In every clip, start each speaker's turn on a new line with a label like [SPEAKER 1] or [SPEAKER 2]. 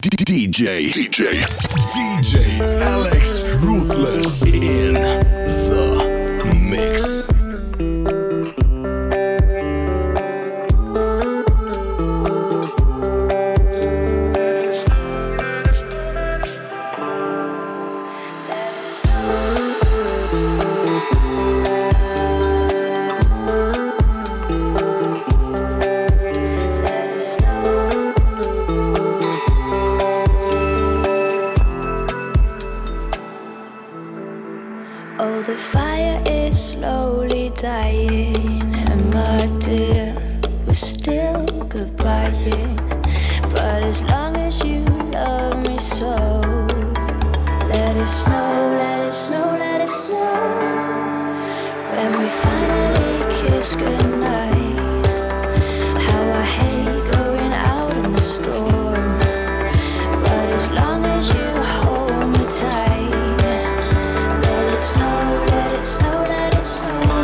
[SPEAKER 1] DJ Alex Ruthless in the mix.
[SPEAKER 2] Oh, the fire is slowly dying, and my dear, we're still goodbying. But as long as you love me so, let it snow, let it snow, let it snow. When we finally kiss goodnight, how I hate going out in the storm. But as long as you hold me tight, let it snow, let it snow, let it snow.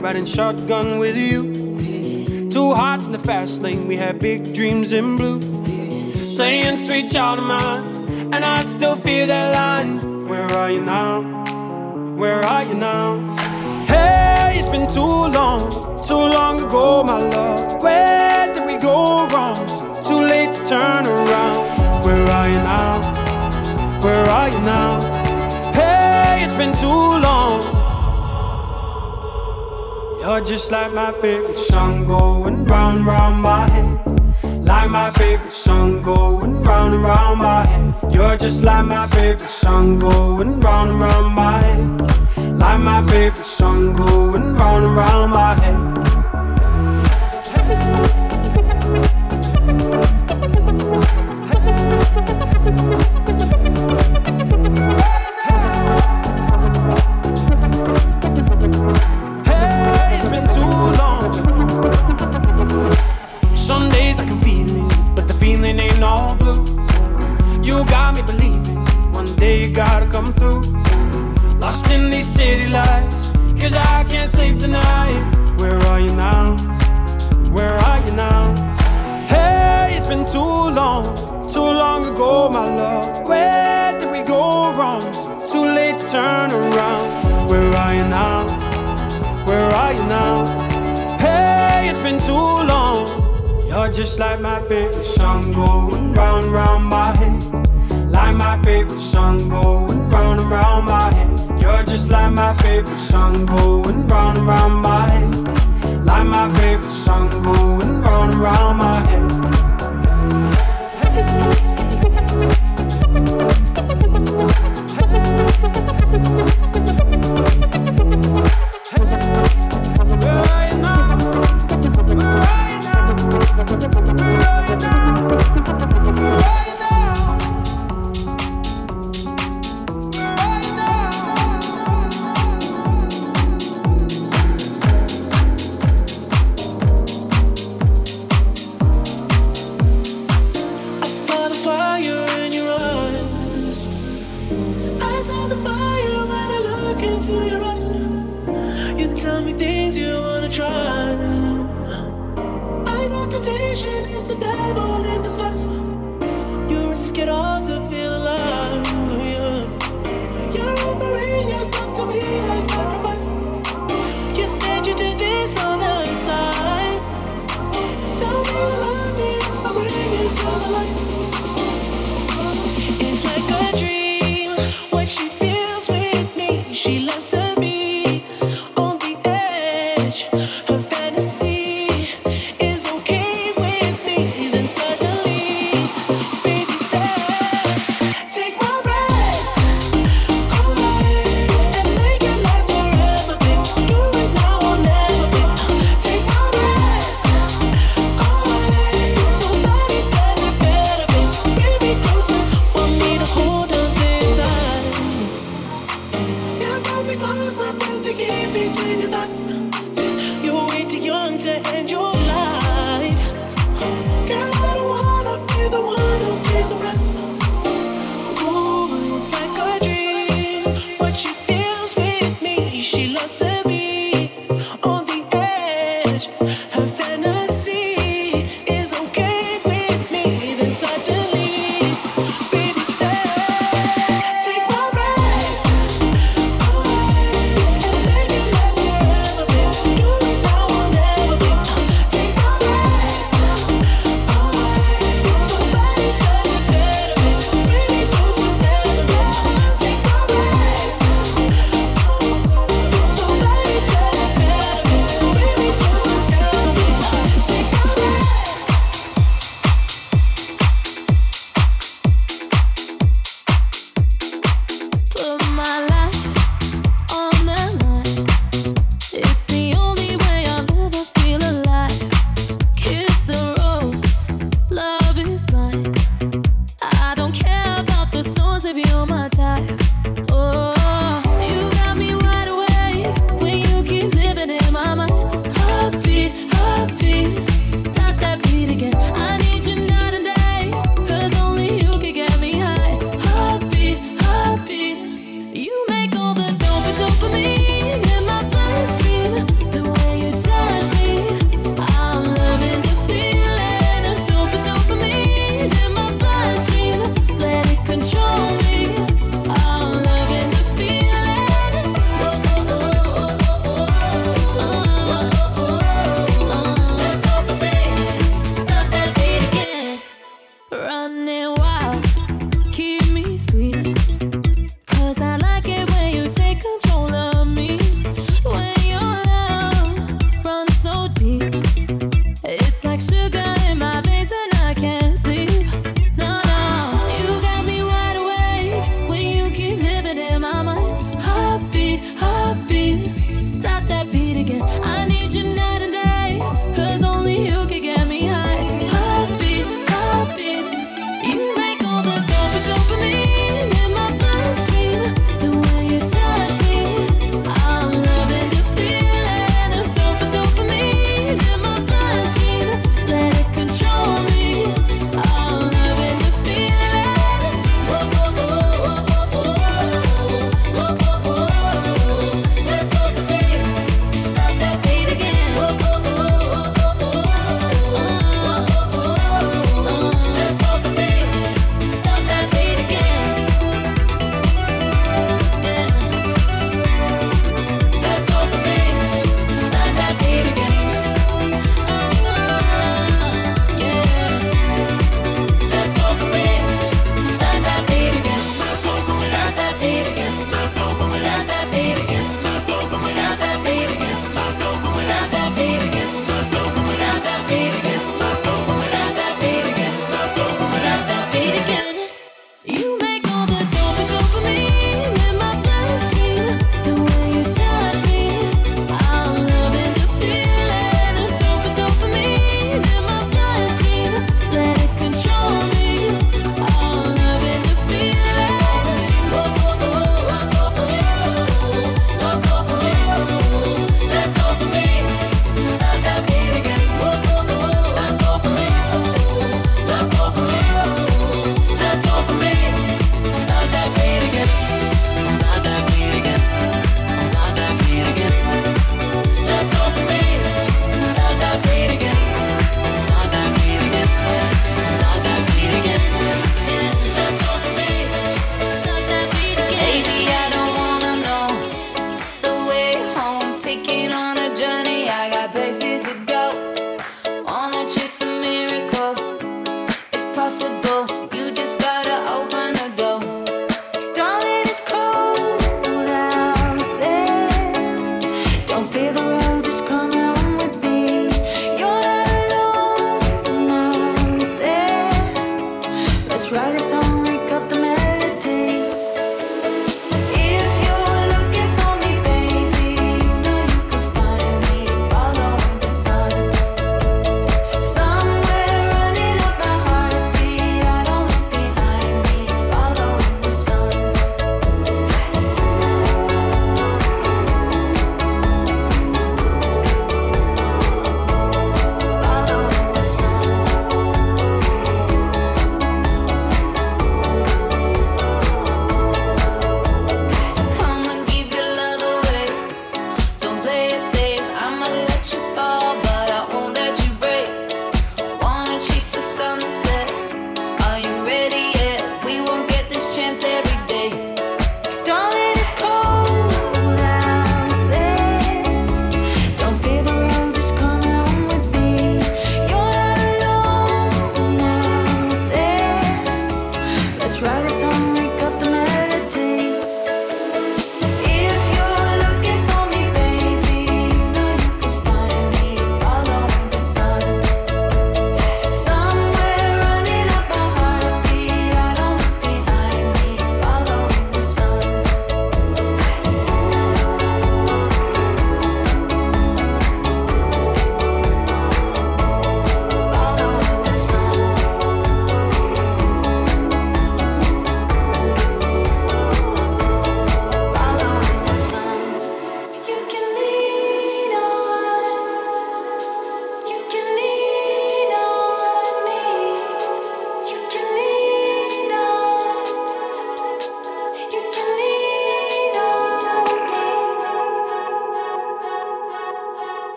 [SPEAKER 3] riding shotgun with you. Two hearts in the fast lane, we had big dreams in blue. Playing sweet child of mine, and I still feel that line. Where are you now? Where are you now? Hey, it's been too long ago, my love. Where did we go wrong? Too late to turn around. Where are you now? Where are you now? Hey, it's been too long. You're just like my favorite song going round, round my head. Like my favorite song going round and round my head. You're just like my favorite song going round and round my head. Like my favorite song going round and round my head. Gotta come through. Lost in these city lights, 'cause I can't sleep tonight. Where are you now? Where are you now? Hey, it's been too long ago, my love. Where did we go wrong? Too late to turn around. Where are you now? Where are you now? Hey, it's been too long. You're just like my favorite song going round, round my head. Like my favorite song going round and round my head. You're just like my favorite song going round and round my head. Like my favorite song going round and round my head.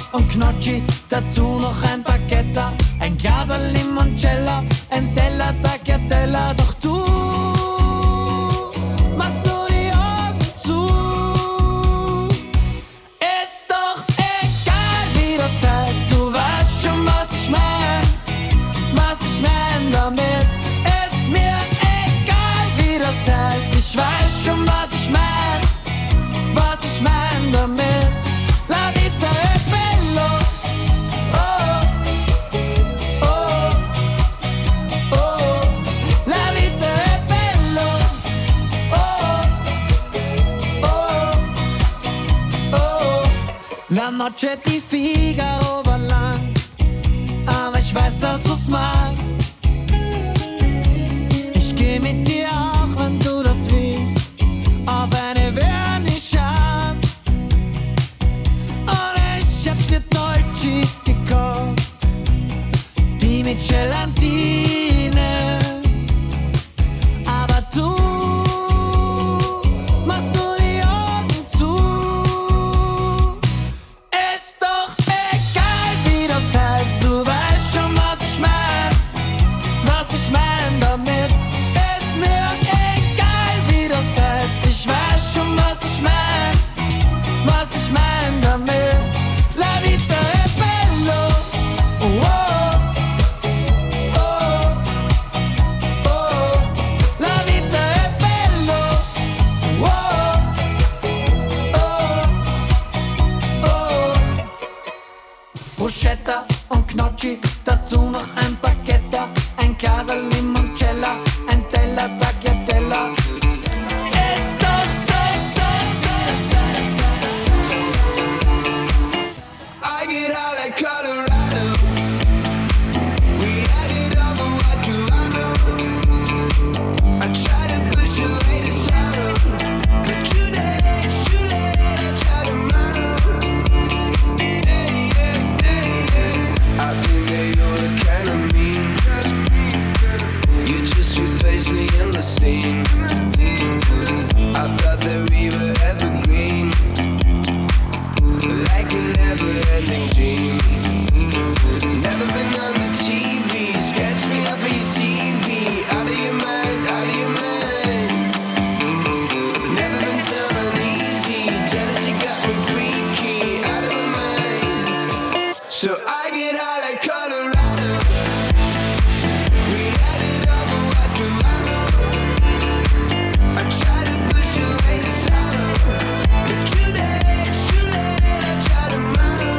[SPEAKER 3] und Gnocchi, dazu noch ein Baguette, ein Glas Limoncello, ein Teller Tagliatella. Doch du machst nur die Augen zu. Ist doch egal, wie das heißt, du weißt schon, was ich mein damit. Ist mir egal, wie das heißt, ich weiß schon, was ich mein damit. La vita è bello, oh, oh, oh, la vita è bello, oh, oh, oh. La noche di Figaro war lang, aber ich weiß, dass du's magst. Ich geh mit dir auch, wenn du das willst, auf eine Vernissage. Und ich hab dir Dolcis gekauft, die mit Gelatine. Aber du machst nur die Augen zu. Ist doch egal, wie das heißt, du weißt schon, was ich mein damit. Ist mir egal, wie das heißt, ich weiß schon, was ich mein damit. La vita è bello, oh, oh, oh, la vita è bello, oh, oh, oh. Bruschetta und Gnocchi, dazu noch ein Baguette, ein Glas Limoncello, ein Teller Tagliatella. Ist das
[SPEAKER 1] I get out like Colorado. We had it over what Toronto. I try to push away the sorrow, but today it's too late. I try to mono. I think that you're the kind of me. You just replaced me in the scene. I thought that we were evergreen, like a never-ending dream. Never been on the TV, scratch me up for your CV. Out of your mind, out of your mind. Never been someone easy, jealousy got me freaky. Out of my mind, so I get high like Colorado. We had it over what Toronto. I try to push away the sorrow, but today it's too late. I try to mono.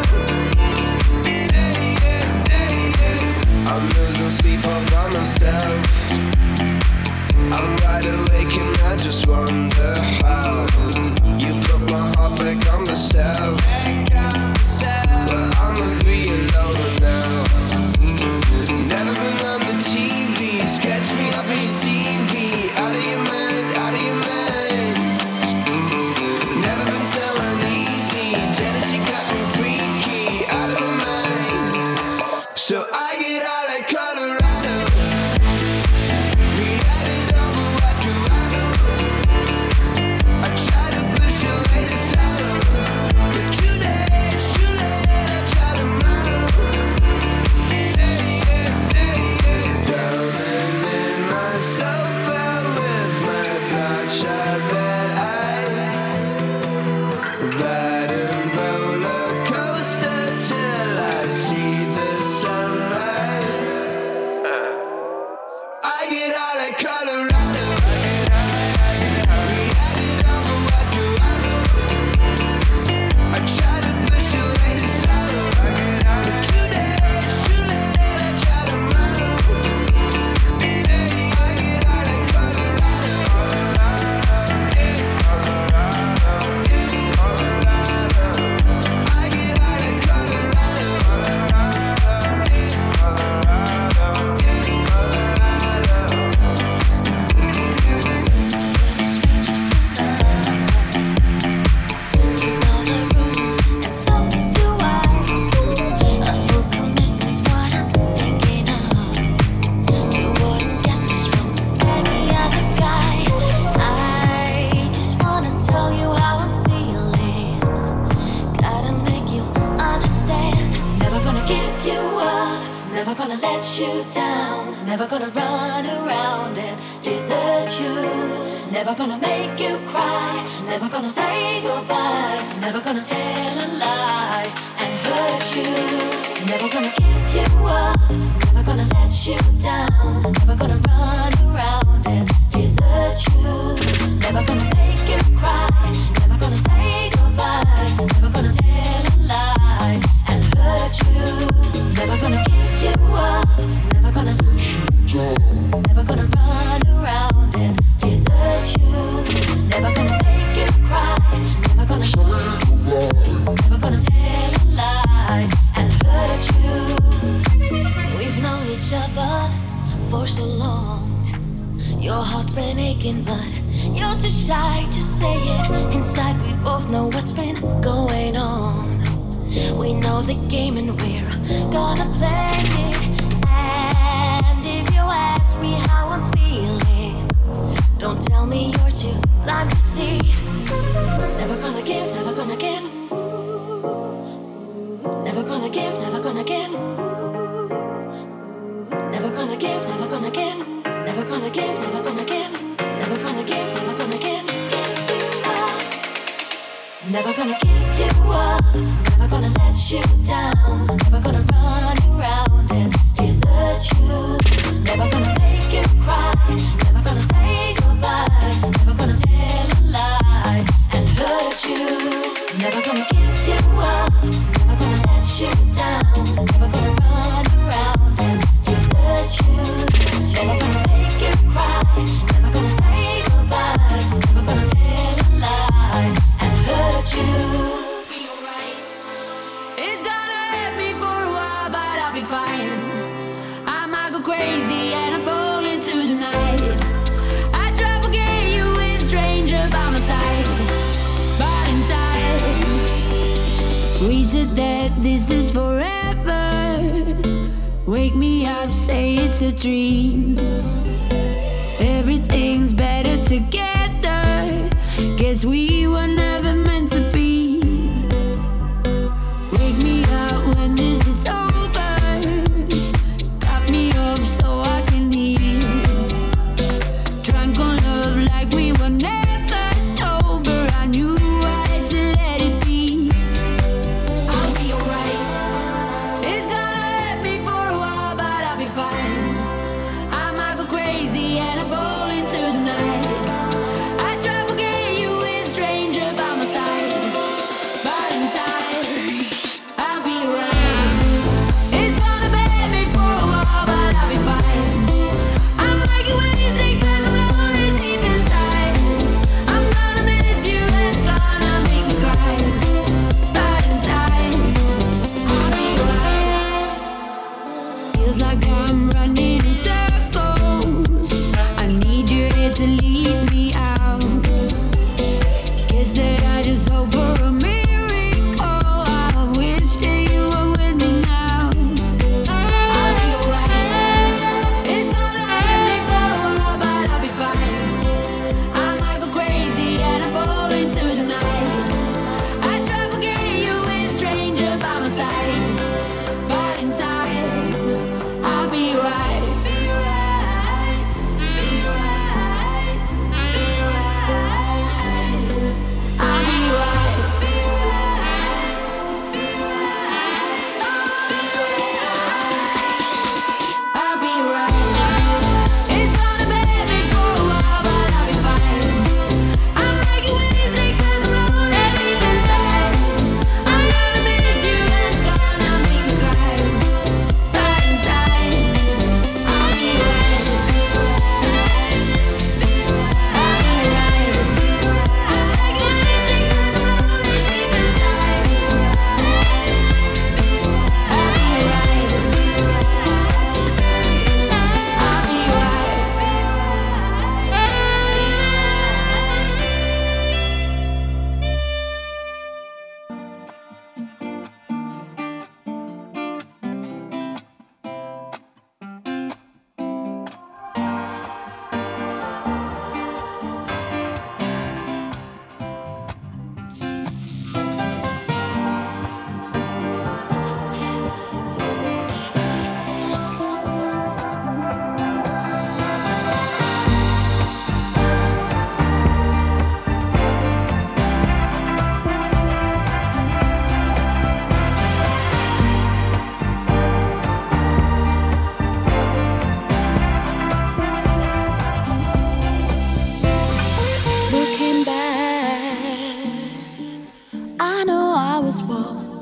[SPEAKER 1] I'm losing sleep all by myself. I'm wide awake and I just wonder how you put my heart back on the shelf. Well, I'm agree alone now.
[SPEAKER 4] you down. Never gonna run around and desert you. Never gonna make you cry. Never gonna say goodbye. Never gonna tell a lie and hurt you. Never gonna give you up. Never gonna let you down. Never gonna run around and desert you. Never gonna make you cry. Never gonna say goodbye. Never gonna tell a lie and hurt you. Never gonna give you up. Never gonna let you down. Never gonna run around and desert you. Never gonna make you cry. Never gonna say goodbye. Never gonna tell a lie and hurt you. We've known each other for so long. Your heart's been aching, but you're too shy to say it. Inside we both know what's been going on. We know the game and we're gonna play it. And if you ask me how I'm feeling, don't tell me you're too blind to see. Never gonna give, never gonna give. Never gonna give, never gonna give. Never gonna give, never gonna give. Never gonna give, never gonna give. Never gonna give, never gonna give. Never gonna give you up. Never gonna let you down. Never gonna run around and desert you. Never gonna make you cry. Never gonna say goodbye. Never gonna tell a lie and hurt you. Never gonna give you up. Never gonna let you down. Never gonna run around and desert you. Never gonna make you cry. Never gonna say goodbye. Never gonna tell a lie and hurt you.
[SPEAKER 2] It's gonna hurt me for a while, but I'll be fine. I might go crazy and I fall into the night. I try to forget you with a stranger by my side, but in time we said that this is forever. Wake me up, say it's a dream. Everything's better together. Guess we were never meant to be. Wake me up when this is over. Cut me off so I can heal. Drunk on love like we were never sober. I knew I had to let it be. I'll be alright. It's gonna hurt me for a while, but I'll be fine. I might go crazy and I fall into the night. I try to forget you with a stranger by my side, but in time I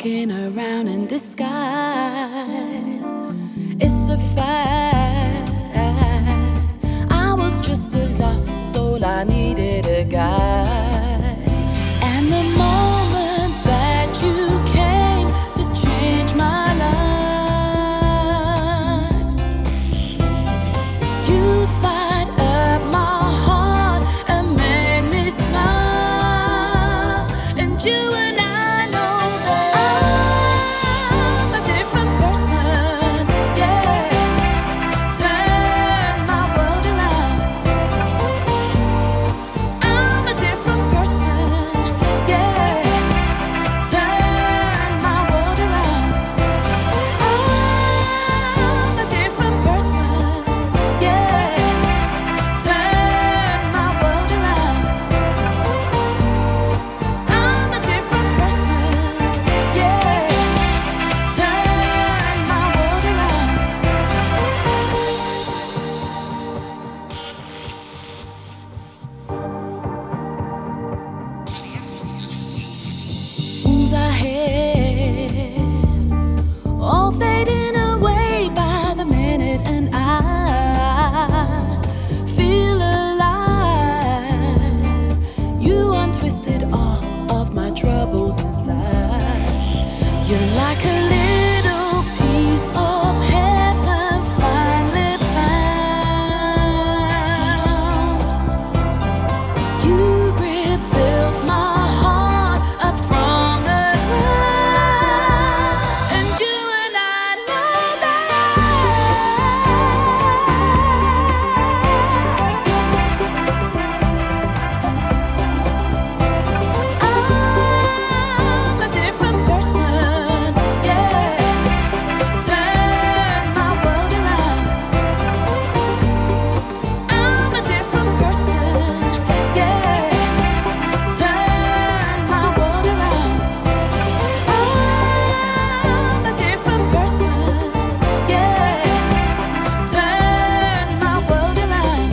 [SPEAKER 5] walking around in disguise. It's a fact. I was just a lost soul, I needed a guide. And the moment that you came to change my life, you fired up my heart and made me smile. And you and I know that I'm a different person, yeah. Turn my world around. I'm a different person, yeah. Turn my world around. I'm a different person, yeah. Turn my world around. I'm a different person, yeah. Turn my world around. Wounds I had, all fading away by the minute, and I feel alive. You untwisted all of my troubles inside. You're like a little piece of heaven finally found. You rebuilt my heart up from the ground. And you and I know that I'm a different person, yeah. Turn my world around. I'm a different person, yeah. Turn my world around. I'm a different person, yeah. Turn my world around.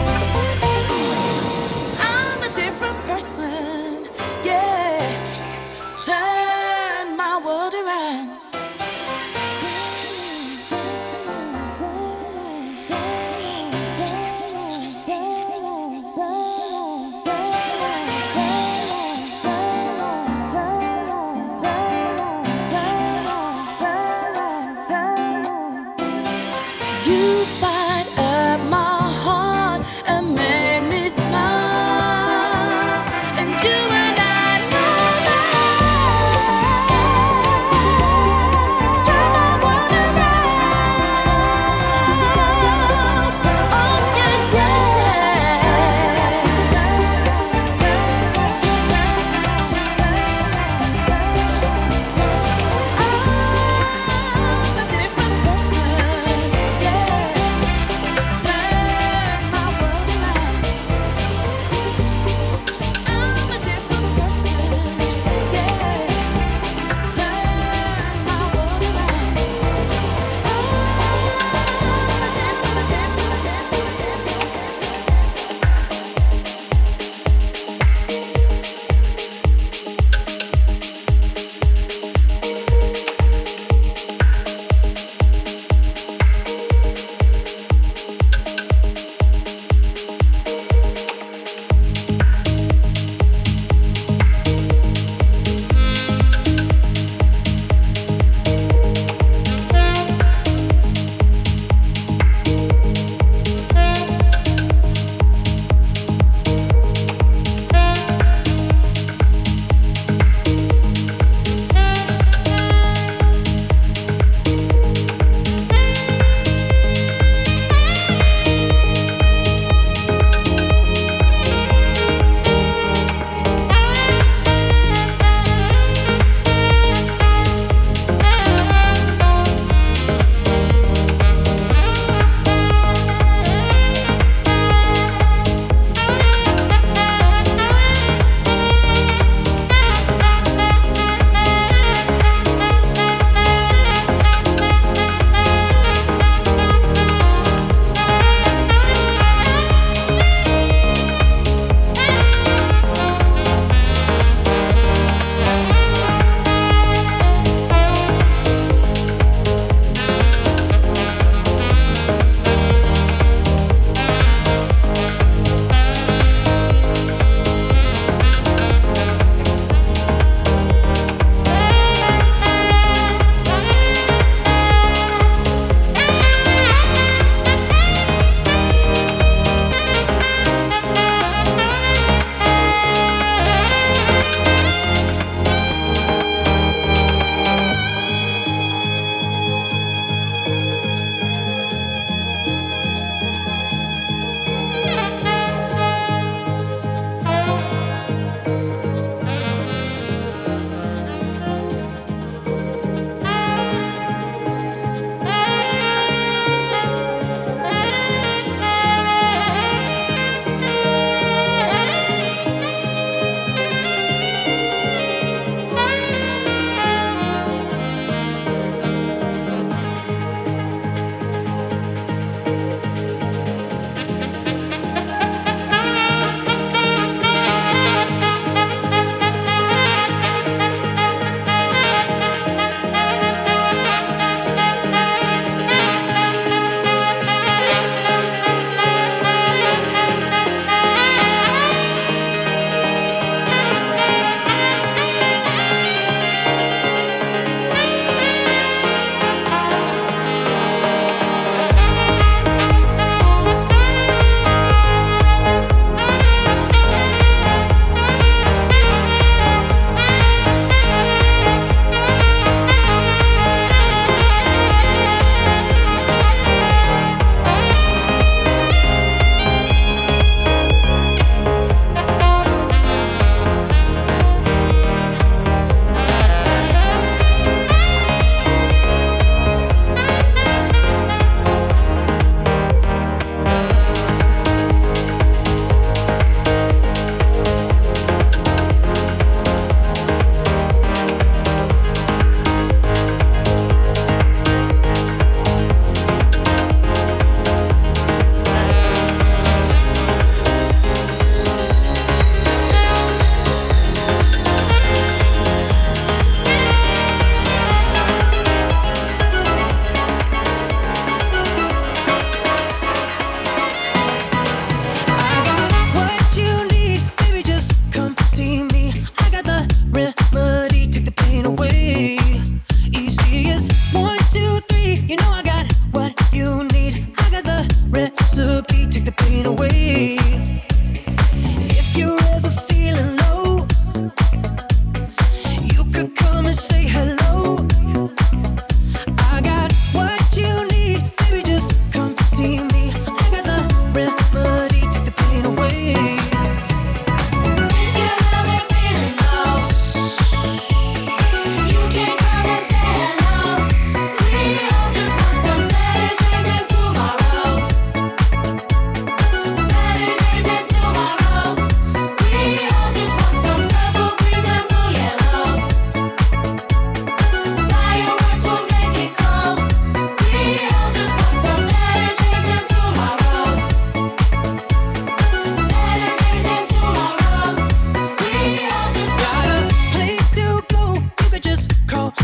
[SPEAKER 5] I'm a different person, yeah. Turn my world around. You fired up my heart and made me smile. And you and I know that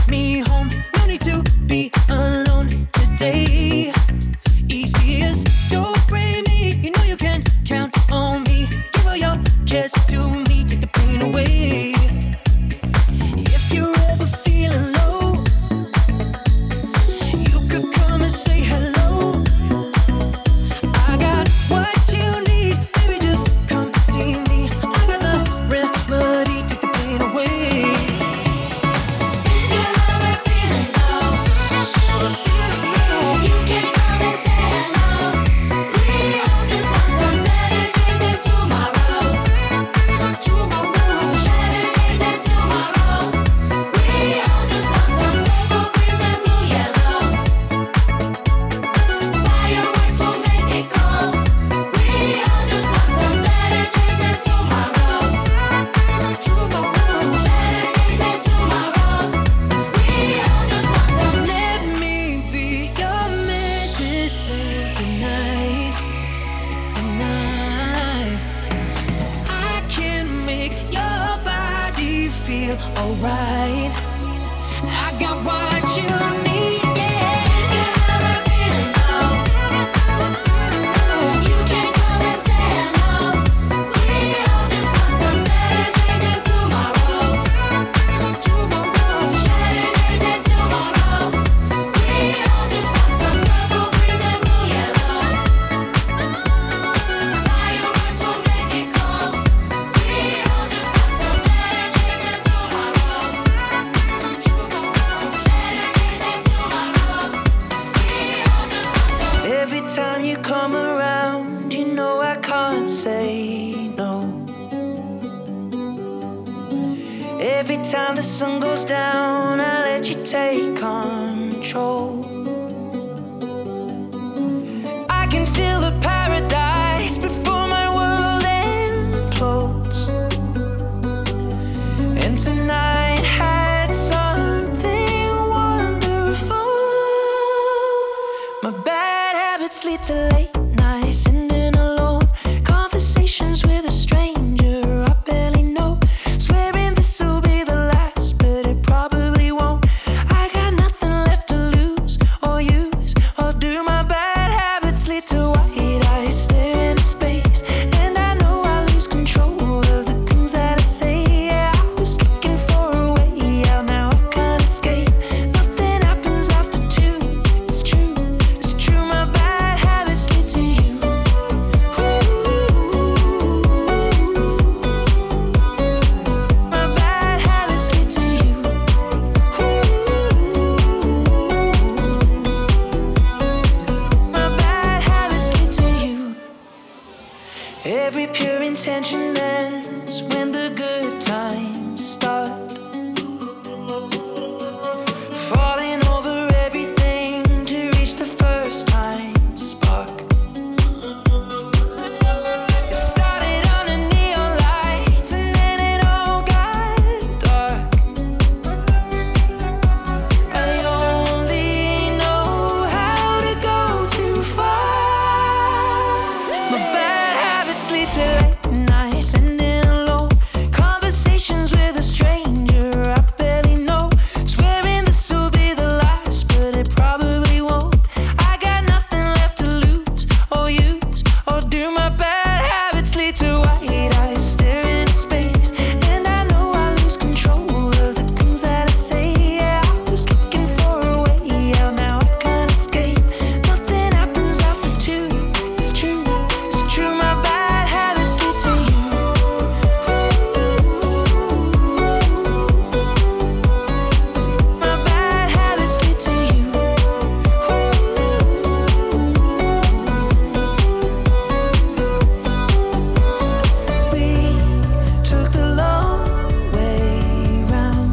[SPEAKER 1] me home. No need to be alone today. Easy as don't break me. You know you can count on me. Give all your cares to me. Take the pain away. If you're ever feeling low, you could come and say hello. I got what you need. Baby, just come see me. I got the remedy. Take the pain away.
[SPEAKER 2] You're never feeling low. You can come and say hello. We all just want some better days and tomorrows. Better days and tomorrows. We all just want some purple, greens and blue yellows. Fireworks will make it go. We all just want some better days and tomorrows. Better days and tomorrows. We all just want some.
[SPEAKER 1] Let me be your medicine tonight, so I can make your body feel alright. I got what you need, yeah.
[SPEAKER 2] You're never feeling low. You can come and say hello. We all just want some better days and tomorrows. Better days and tomorrows. We all just want some purple, greens and blue yellows. Fireworks will make it go. We all just want some better days and tomorrows. Better days and tomorrows. We all just want some.
[SPEAKER 1] Every time you come around, you know I can't say no. Every time the sun goes down, I let you take control. I can feel the paradise before my world implodes. And tonight had something wonderful. My bad habits lead to late nights, sitting alone. Conversations with a stranger I barely know. Swearing this will be the last, but it probably won't. I got nothing left to lose or use or do. My bad habits lead to white eyes staring into space, and I know I lose control of the things that I say. Yeah, I was looking for a way out, now I can't escape. Nothing happens after two. It's true, it's true. My bad habits lead to you. My bad habits lead to you. My bad habits lead to you. Every pure intention ends when the good times start. Falling over everything to reach the first time spark. It started under neon lights and then it all got dark. I only know how to go too far. My bad habits lead to late nights, sitting alone. Conversations with a stranger I barely know. Swearing this will be the last, but it probably won't. I got nothing left to lose or use or do. My bad habits lead to white eyes staring into space, and I know I lose control of the things that I say. Yeah, I was looking for a way out, now I can't escape. Nothing happens after two. It's true, it's true. My bad habits lead to you. My bad habits lead to you. We took the long way round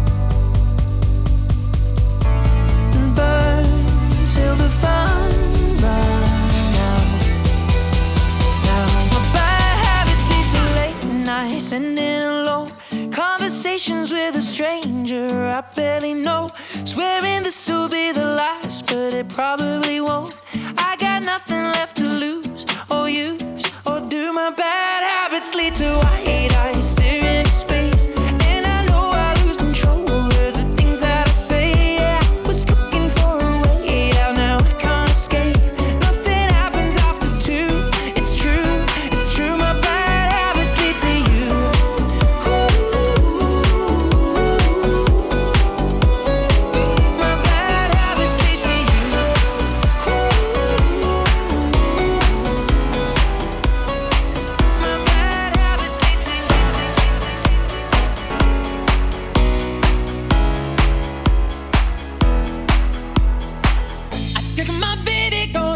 [SPEAKER 1] and burned till the fun ran out. Now my bad habits lead to late nights, sitting alone. Conversations with a stranger I barely know. Swearing this will be the last, but it probably won't. I got nothing left to lose or use or do. My bad habits lead to white eyes staring into space, and I know I lose control of the things that I say.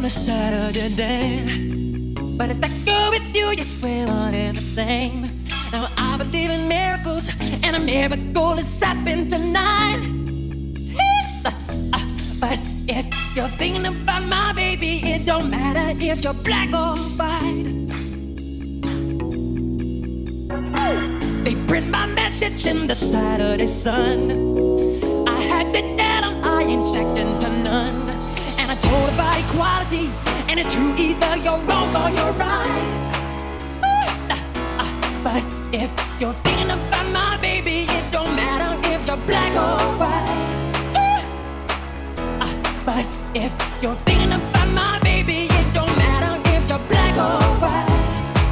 [SPEAKER 5] on a Saturday day. But if I go with you, yes, we're one and the same. Now I believe in miracles, and a miracle is happening tonight. But if you're thinking about my baby, it don't matter if you're black or white. They print my message in the Saturday Sun. I had to tell them I ain't second to none. And I told about equality, and it's true, either you're wrong or you're right. But if you're thinking about my baby, it don't matter if you're black or white. But if you're thinking about my baby, it don't matter if you're black or white.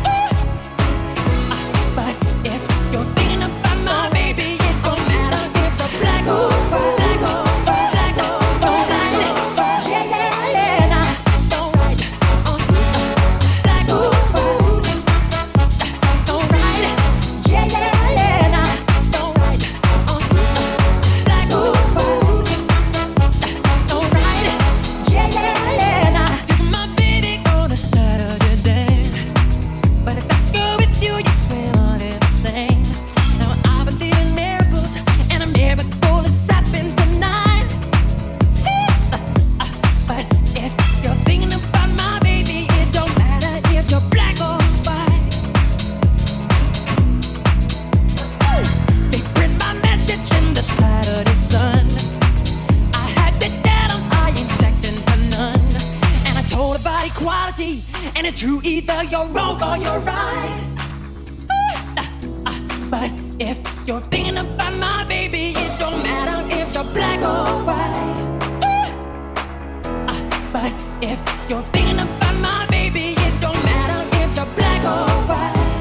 [SPEAKER 5] But if you're thinking about my baby, it don't matter if you're black or white. Black or white, black or white, yeah, yeah, yeah, nah, alright. Black or white, alright. Yeah, yeah, yeah, nah, alright. Black or white, alright. Yeah, yeah, yeah, nah. Took my baby on a Saturday day. But if I go with you, yes, we're one and the same. Now I believe in miracles, and a miracle is happening tonight. But if you're thinking about my baby, it don't matter if you're black or white. They print my message in the Saturday Sun. I had to tell them I ain't second to none. And I told about equality, and it's true, either you're wrong or you're right. But if you're thinking about my baby, it don't matter if you're black or white. But if you're thinking about my baby, it don't matter if you're black or white.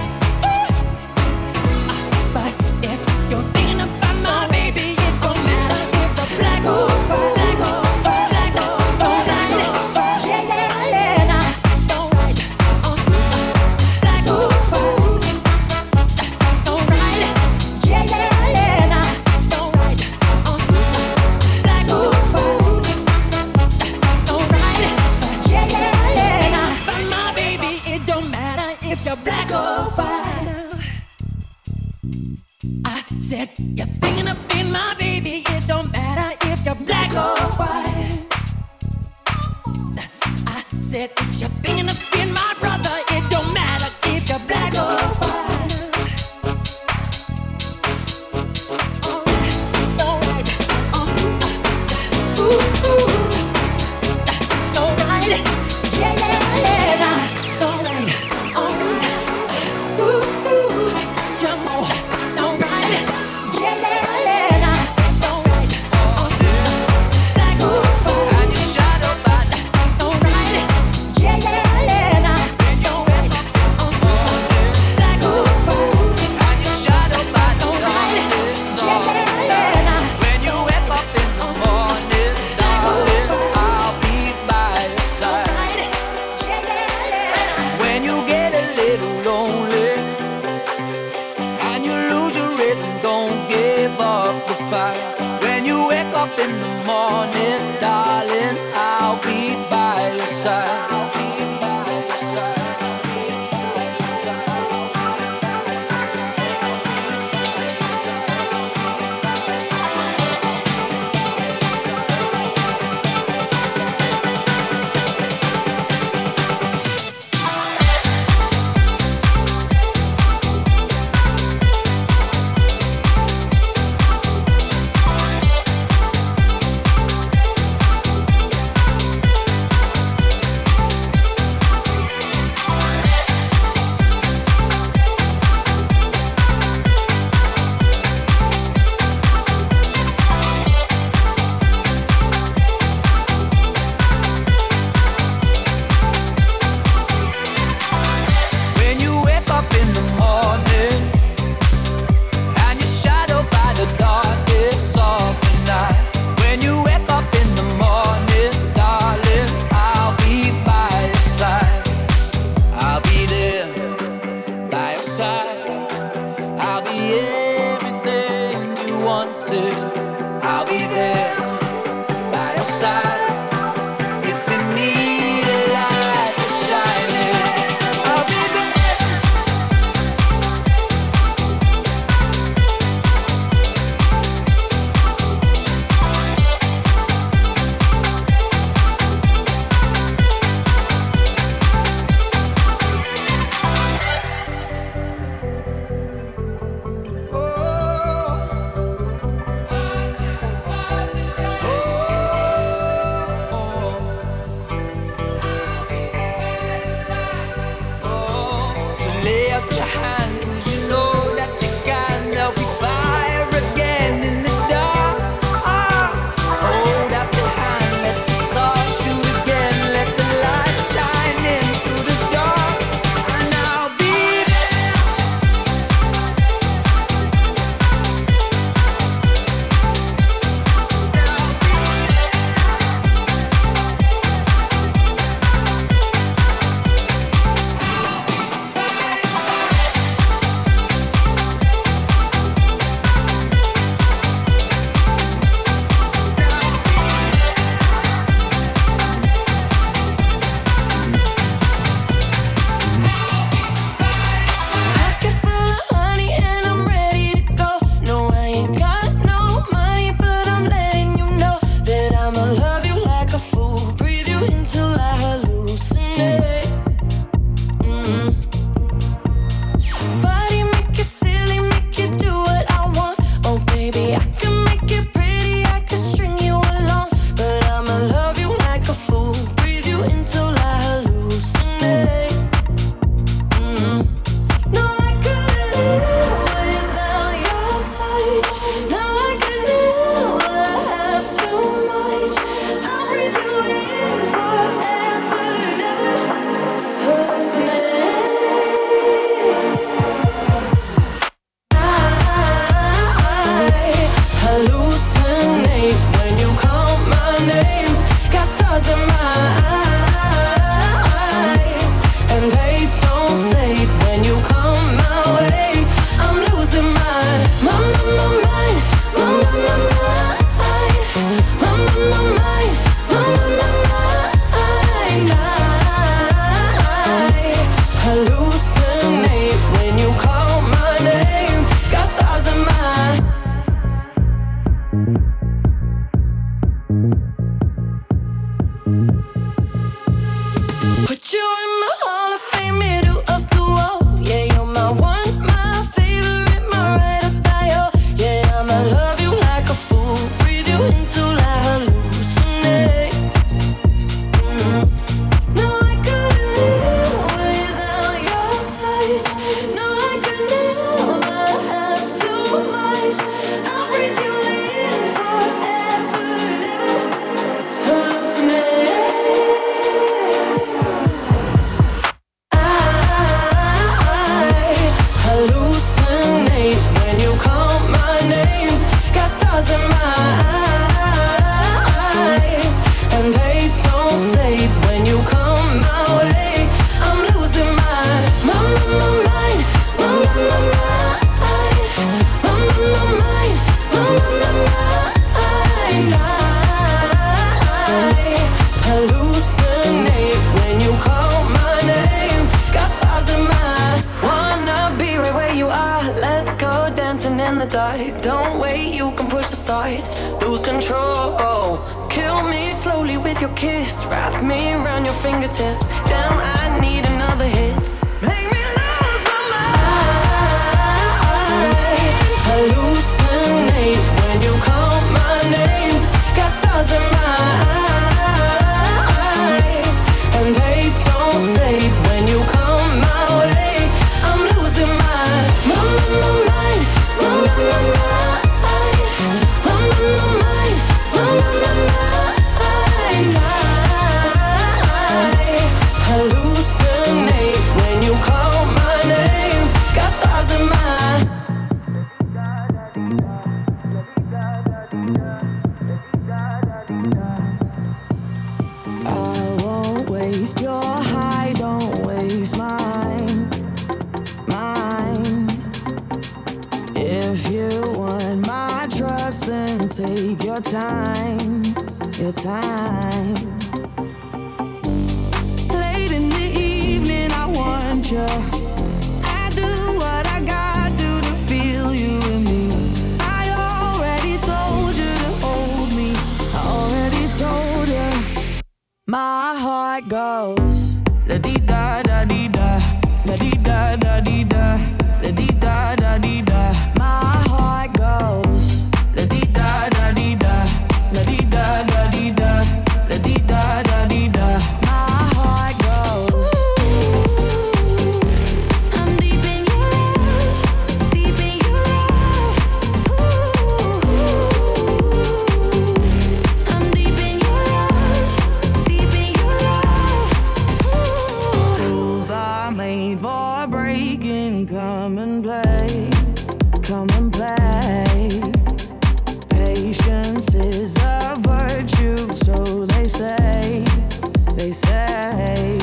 [SPEAKER 5] But if you're thinking about my baby, it don't matter if you're black or white. Black or white, black or white, yeah, yeah, yeah, nah, alright. Black or white, alright. Yeah, yeah, yeah, nah, alright. Black or white, alright. Yeah, yeah, yeah, nah. But my baby, it don't matter if you're black or white. I said, you're thinking of being my baby, it don't matter if you're black or white. I said, if you're thinking of being my brother, it don't matter if you're black or white. Alright, alright, yeah, yeah, yeah, nah. Alright, jump on, alright, yeah, yeah, yeah, nah. Alright, black or white. And you shadow bad. Alright, yeah, yeah, yeah, nah. Alright, black or white.
[SPEAKER 6] And you shadow bad.
[SPEAKER 5] Alright, yeah, yeah, yeah, nah.
[SPEAKER 6] When you wake up in the morning, darling, I'll be by your side.
[SPEAKER 5] Alright, yeah, yeah, yeah, nah.
[SPEAKER 6] When you get a little lonely and you lose your rhythm, don't give up the fight. When you wake up in the morning, darling, I'll be by your side. I'll be by your side.
[SPEAKER 2] Put you in my Hall of Fame, middle of the wall. Yeah, you're my one, my favorite, my ride or die. Oh, yeah, I'ma love you like a fool, breathe you in till I hallucinate. No, I couldn't live without your touch. No, I could never have too much. I'll breathe you in forever, never hallucinate. Hallucinate when you call my name. Got stars in my eyes, and they don't fade when you come my way. I'm losing my mind, mind. Hallucinate when you call my name. Got stars in my wanna be right where you are. Let's go dancing in the dark. Don't wait, you can push the start. Lose control. Kill me slowly with your kiss. Wrap me around your fingertips. Damn, I need another hit. Make me lose my mind. Hallucinate when you call my name. Got stars in my eyes, and they don't fade when you come my way. I'm losing my mind. Hallucinate when you call my name. Got stars in my
[SPEAKER 7] I won't waste your high, don't waste mine. If you want my trust, then take your time, your time. Late in the evening, I want you. I do what I got to feel you in me. I already told you to hold me. I already told you. My heart goes la di da da di da, la di da da di da, la di da da di da. My heart goes la di da da di da, la di da da di da, la di da da di da. My heart goes. I'm deep in your love, deep in your love. I'm deep in your love, deep in your love. Rules are made for breaking. Come and play, come and play. Patience is a virtue, so they say, they say.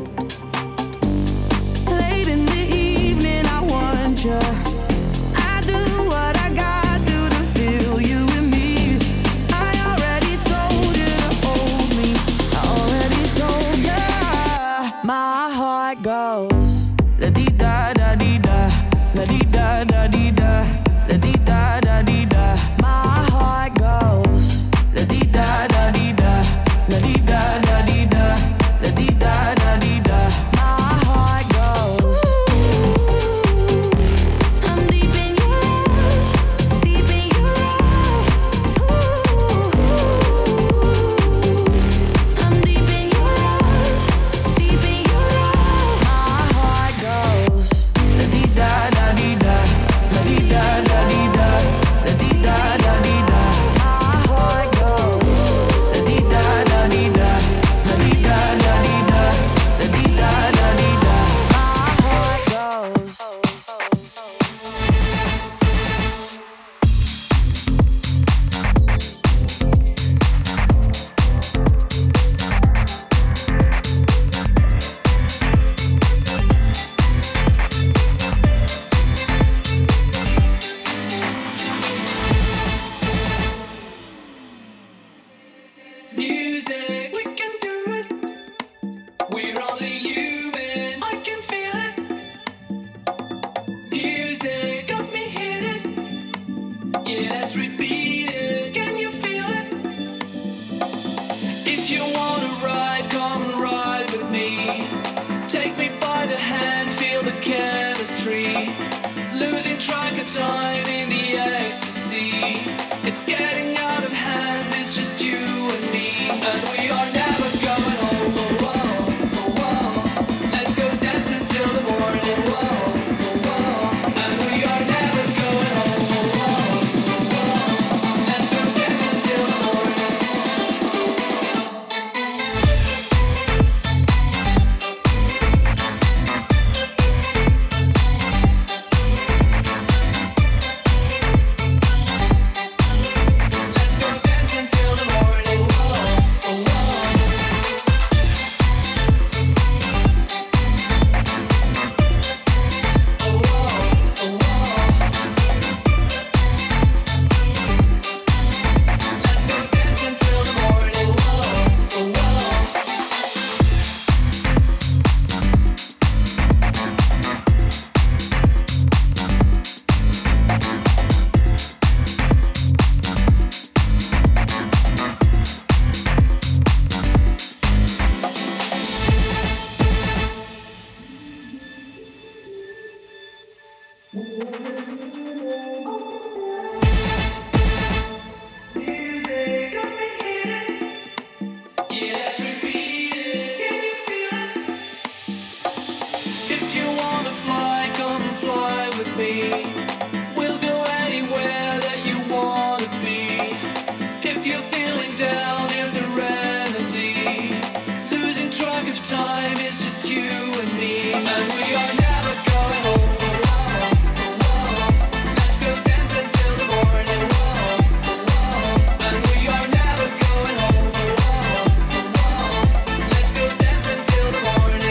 [SPEAKER 7] Late in the evening, I want you. I do what I got to feel you in me. I already told you to hold me. I already told you. My heart goes la di da da di da, la di da da di da, la di da da di da. My heart goes la di da da di da, la di da da di da, la di da da di da. My heart goes. I'm deep in your love, deep in your love. I'm deep in your love, deep in your love. My heart goes la di da da di da, la di da da di da, la di da da di da. My heart goes la di da da di da, la di da da di da, la di da da di da. My heart goes.
[SPEAKER 1] Music, we can do it. We're only human. I can feel it. Music got me hit it. Yeah, let's repeat it. Can you feel it? track of time in the ecstasy. It's getting out of hand, it's just you and me. And we are never going home. Oh, oh, oh, oh. Let's go dance until the morning. Oh, oh, oh. And we are never going home. Oh, oh, oh. Let's go dance until the morning. If you wanna fly, come and fly with me. We'll go anywhere that you wanna be. If you're feeling down, here's serenity. Losing track of time, it's just you and me. And we are never going home. Oh, oh, oh. Let's go dance until the morning. Oh, oh. And we are never going home. Oh, oh. Let's go dance until the morning.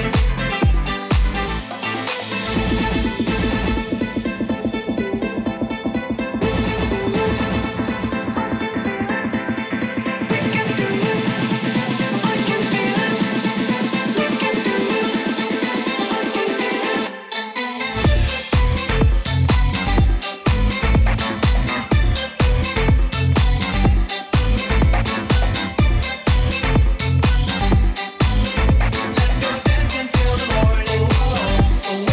[SPEAKER 1] Let's go dance until the morning. Oh, oh,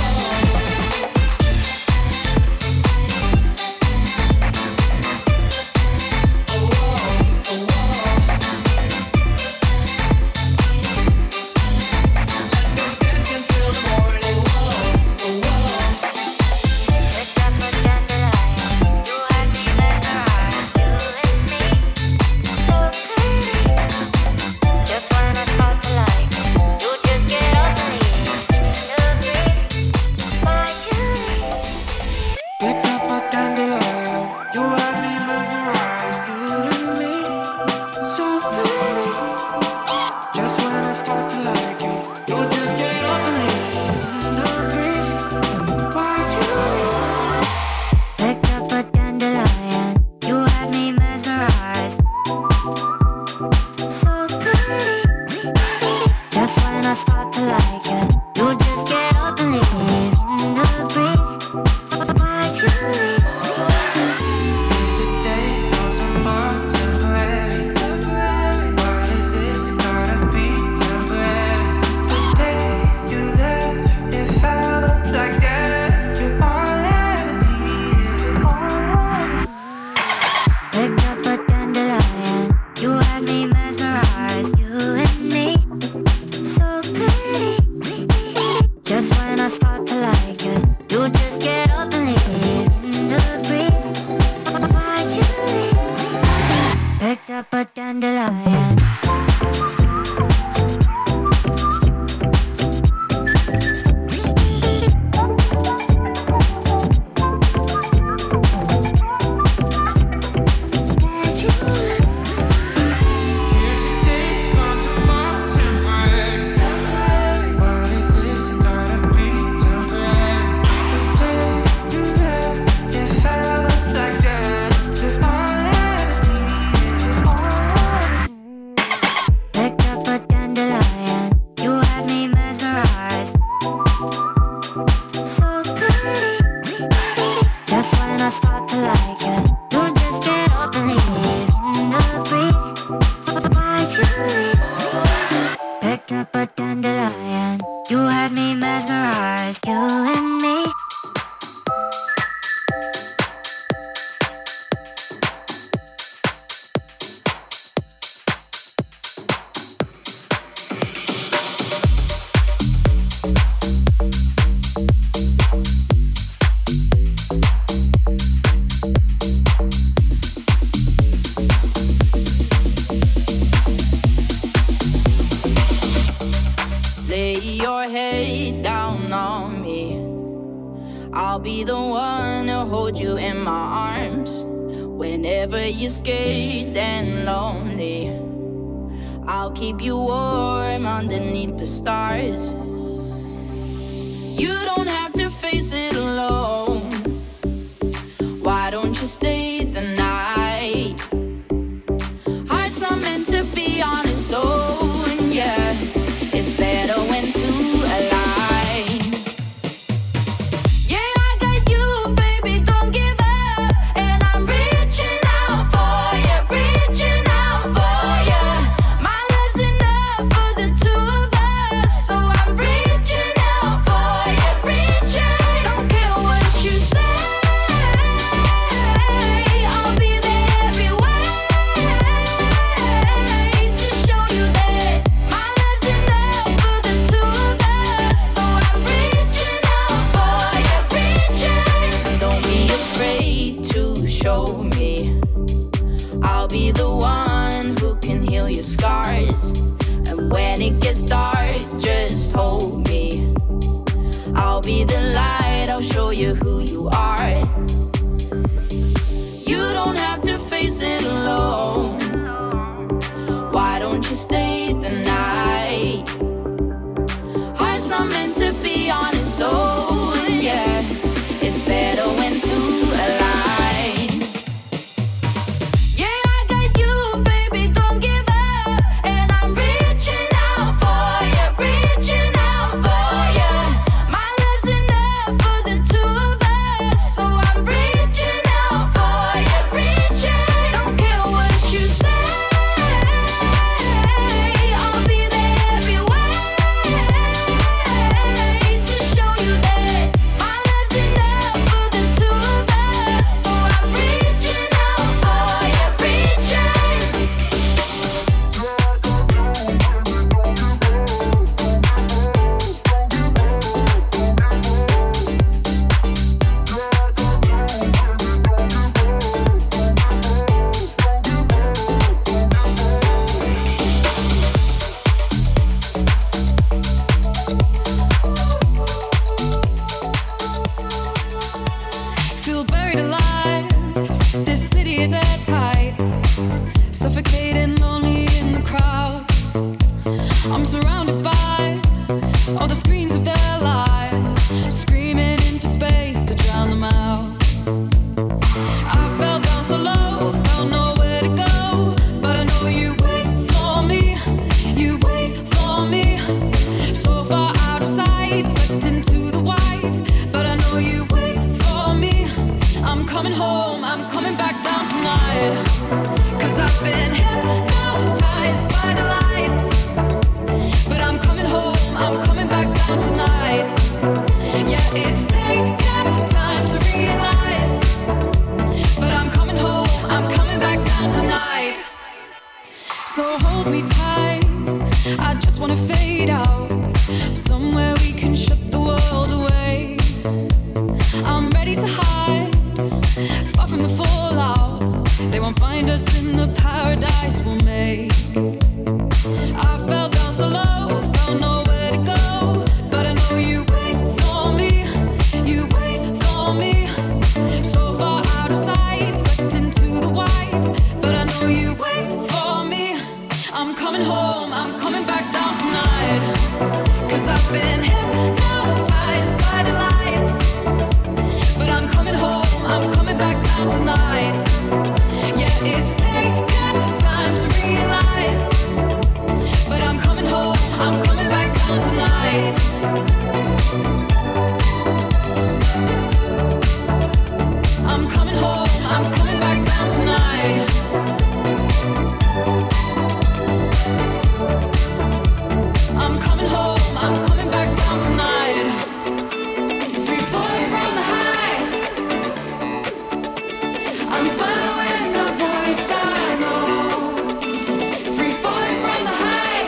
[SPEAKER 1] Let's go dance until the morning.
[SPEAKER 7] Picked up a dandelion, you had me mesmerized. You and me, so pretty. Just when I start to like you, you just get up and leave in the breeze. Why'd you leave?
[SPEAKER 2] Picked up a dandelion, you had me mesmerized. So pretty. Just when I start to like it, you just get up and leave in the breeze. Why'd you leave?
[SPEAKER 7] Here today, no tomorrow, temporary. Why does this gotta be temporary? The day you left, it felt like death. You're all I need.
[SPEAKER 2] Picked up a dandelion, you had me mesmerized. You and me, so pretty. Just when I start to like it, you just get up and leave in the breeze. Why'd you leave? Picked up a dandelion.
[SPEAKER 7] Why'd you leave?
[SPEAKER 2] I'll be the one to hold you in my arms. Whenever you're scared and lonely, I'll keep you warm underneath the stars. You don't have to face it alone. Why don't you stay the night? Heart's not meant to be on its own, yeah. It's better when two align. Yeah, I got you, baby, don't give up. And I'm reaching out for you, reaching out for you. My love's enough for the two of us, so I'm reaching out for you, reaching. Don't care what you say, I'll be there every way to show you that my love's enough for the two of us, so I'm reaching out for you, reaching. Don't be afraid to show me. I'll be the one who can heal your scars. And when it gets dark, just hold me. I'll be the light, I'll show you who you are. You don't have to face it alone. Why don't you stay the night? Heart's not meant to be on its own, yeah. It's better when two align. Yeah, I got you, baby, don't give up. And I'm reaching out for you, reaching out for you. My love's enough for the two of us, so I'm reaching out for you, reaching. Don't care what you say, I'll be there every way to show you that my love's enough for the two of us, so I'm reaching out for you, reaching.
[SPEAKER 5] Feel buried alive. This city is airtight. Suffocating, lonely in the crowd. I'm surrounded by all the screens of their lives, screaming into space to drown them out. I fell down so low, felt nowhere to go, but I know you wait for me. You wait for me. So far out of sight, sucked into the white, but I know you wait for me. I'm coming home, I'm coming back down tonight. 'Cause I've been hypnotized by the lights. But I'm coming home, I'm coming back down tonight. Yeah, it's taken time to realize. But I'm coming home, I'm coming back down tonight. So hold me tight, I just wanna fade out. Somewhere we can shut the world away. I'm ready to hide, far from the fallout. They won't find us in the paradise we'll make. I fell down so low, found nowhere to go, but I know you wait for me. You wait for me. So far out of sight, sucked into the white, but I know you wait for me. I'm coming home, I'm coming back down tonight. 'Cause I've been hypnotized by the lights. But I'm coming home, I'm coming back down tonight. Yeah, it's taken time to realize. But I'm coming home, I'm coming back down tonight. I'm coming home, I'm coming back down tonight. I'm coming home, I'm coming back down tonight. Free falling from the high. I'm following the voice I know. Free falling from the high.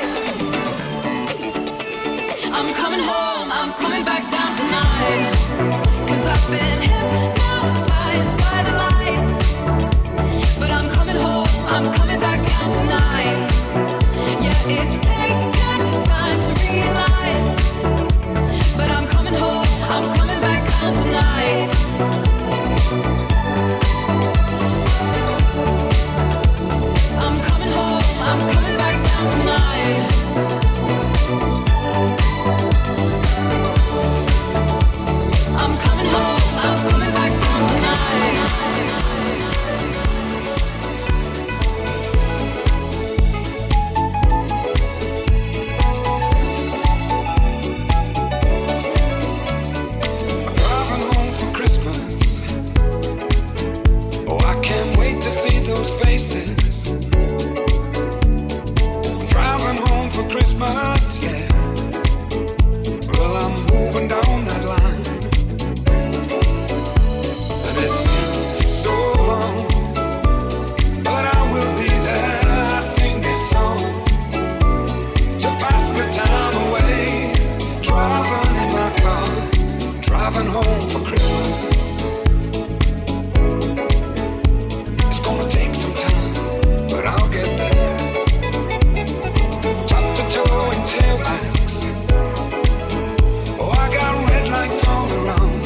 [SPEAKER 5] I'm coming home, I'm coming back down tonight. 'Cause I've been hypnotized by the lights. But I'm coming home, I'm coming back down tonight. Yeah, it's taken time to realize. But I'm coming home, I'm coming back down tonight.
[SPEAKER 8] Christmas, yeah. Well, I'm moving down that line, and it's been so long, but I will be there. I sing this song to pass the time away, driving in my car, driving home for Christmas. It's gonna take some time, but I'll get there. Top to toe in tailbacks. Oh, I got red lights all around,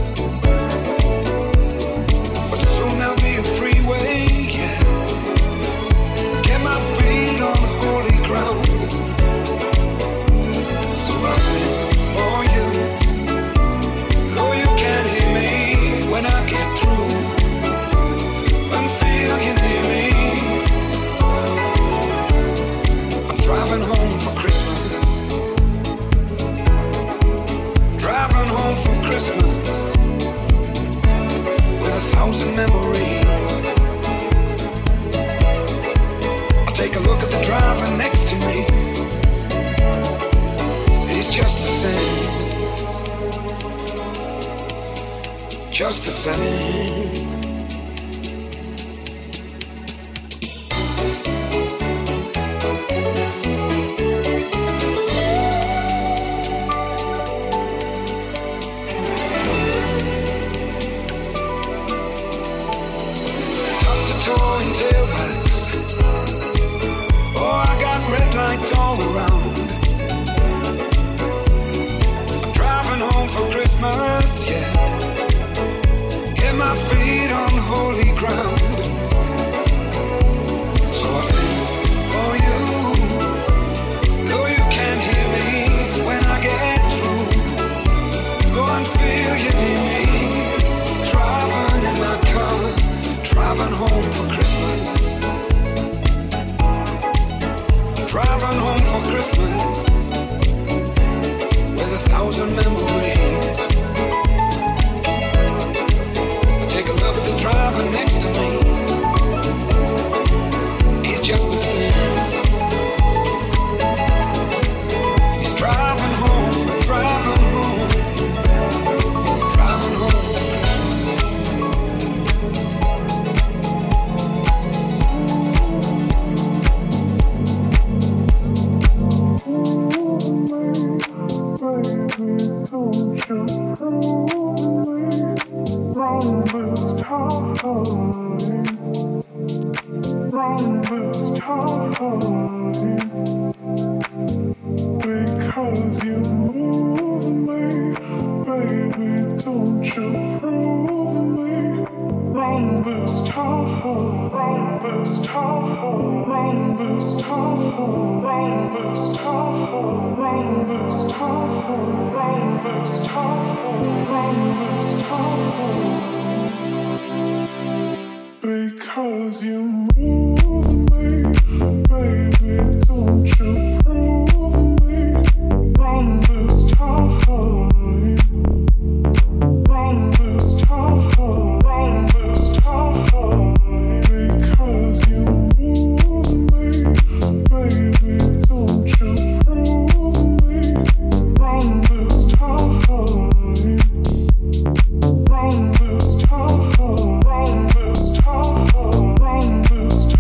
[SPEAKER 8] but soon there'll be a freeway, yeah. Get my feet on the holy ground. So I sing for you, though you can't hear me when I get through, and feel you near me. I'm driving home for Christmas, driving home for Christmas, with 1,000 memories. I'll take a look at the driver next to me. He's just the same, just the same. Top to toe in tailbacks. Oh, I got red lights all around. I'm driving home for Christmas, yeah. Get my feet on holy ground. So I sing for you, though you can't hear me when I get through. Go and feel you near me, driving in my car, driving home for Christmas, driving home for Christmas, with 1,000 memories. I take a look at the driver next to me. He's just the same. He's driving home, driving home, driving home for Christmas.
[SPEAKER 9] Because you move me, baby, don't you prove me wrong this time, wrong this time, wrong this time, wrong this time, wrong this time, wrong this time, wrong this time. Because you move me, baby, don't you prove me wrong this time, wrong this time, wrong this time. Because you move me, baby, don't you prove me wrong this time, wrong this time, wrong this time, wrong this time.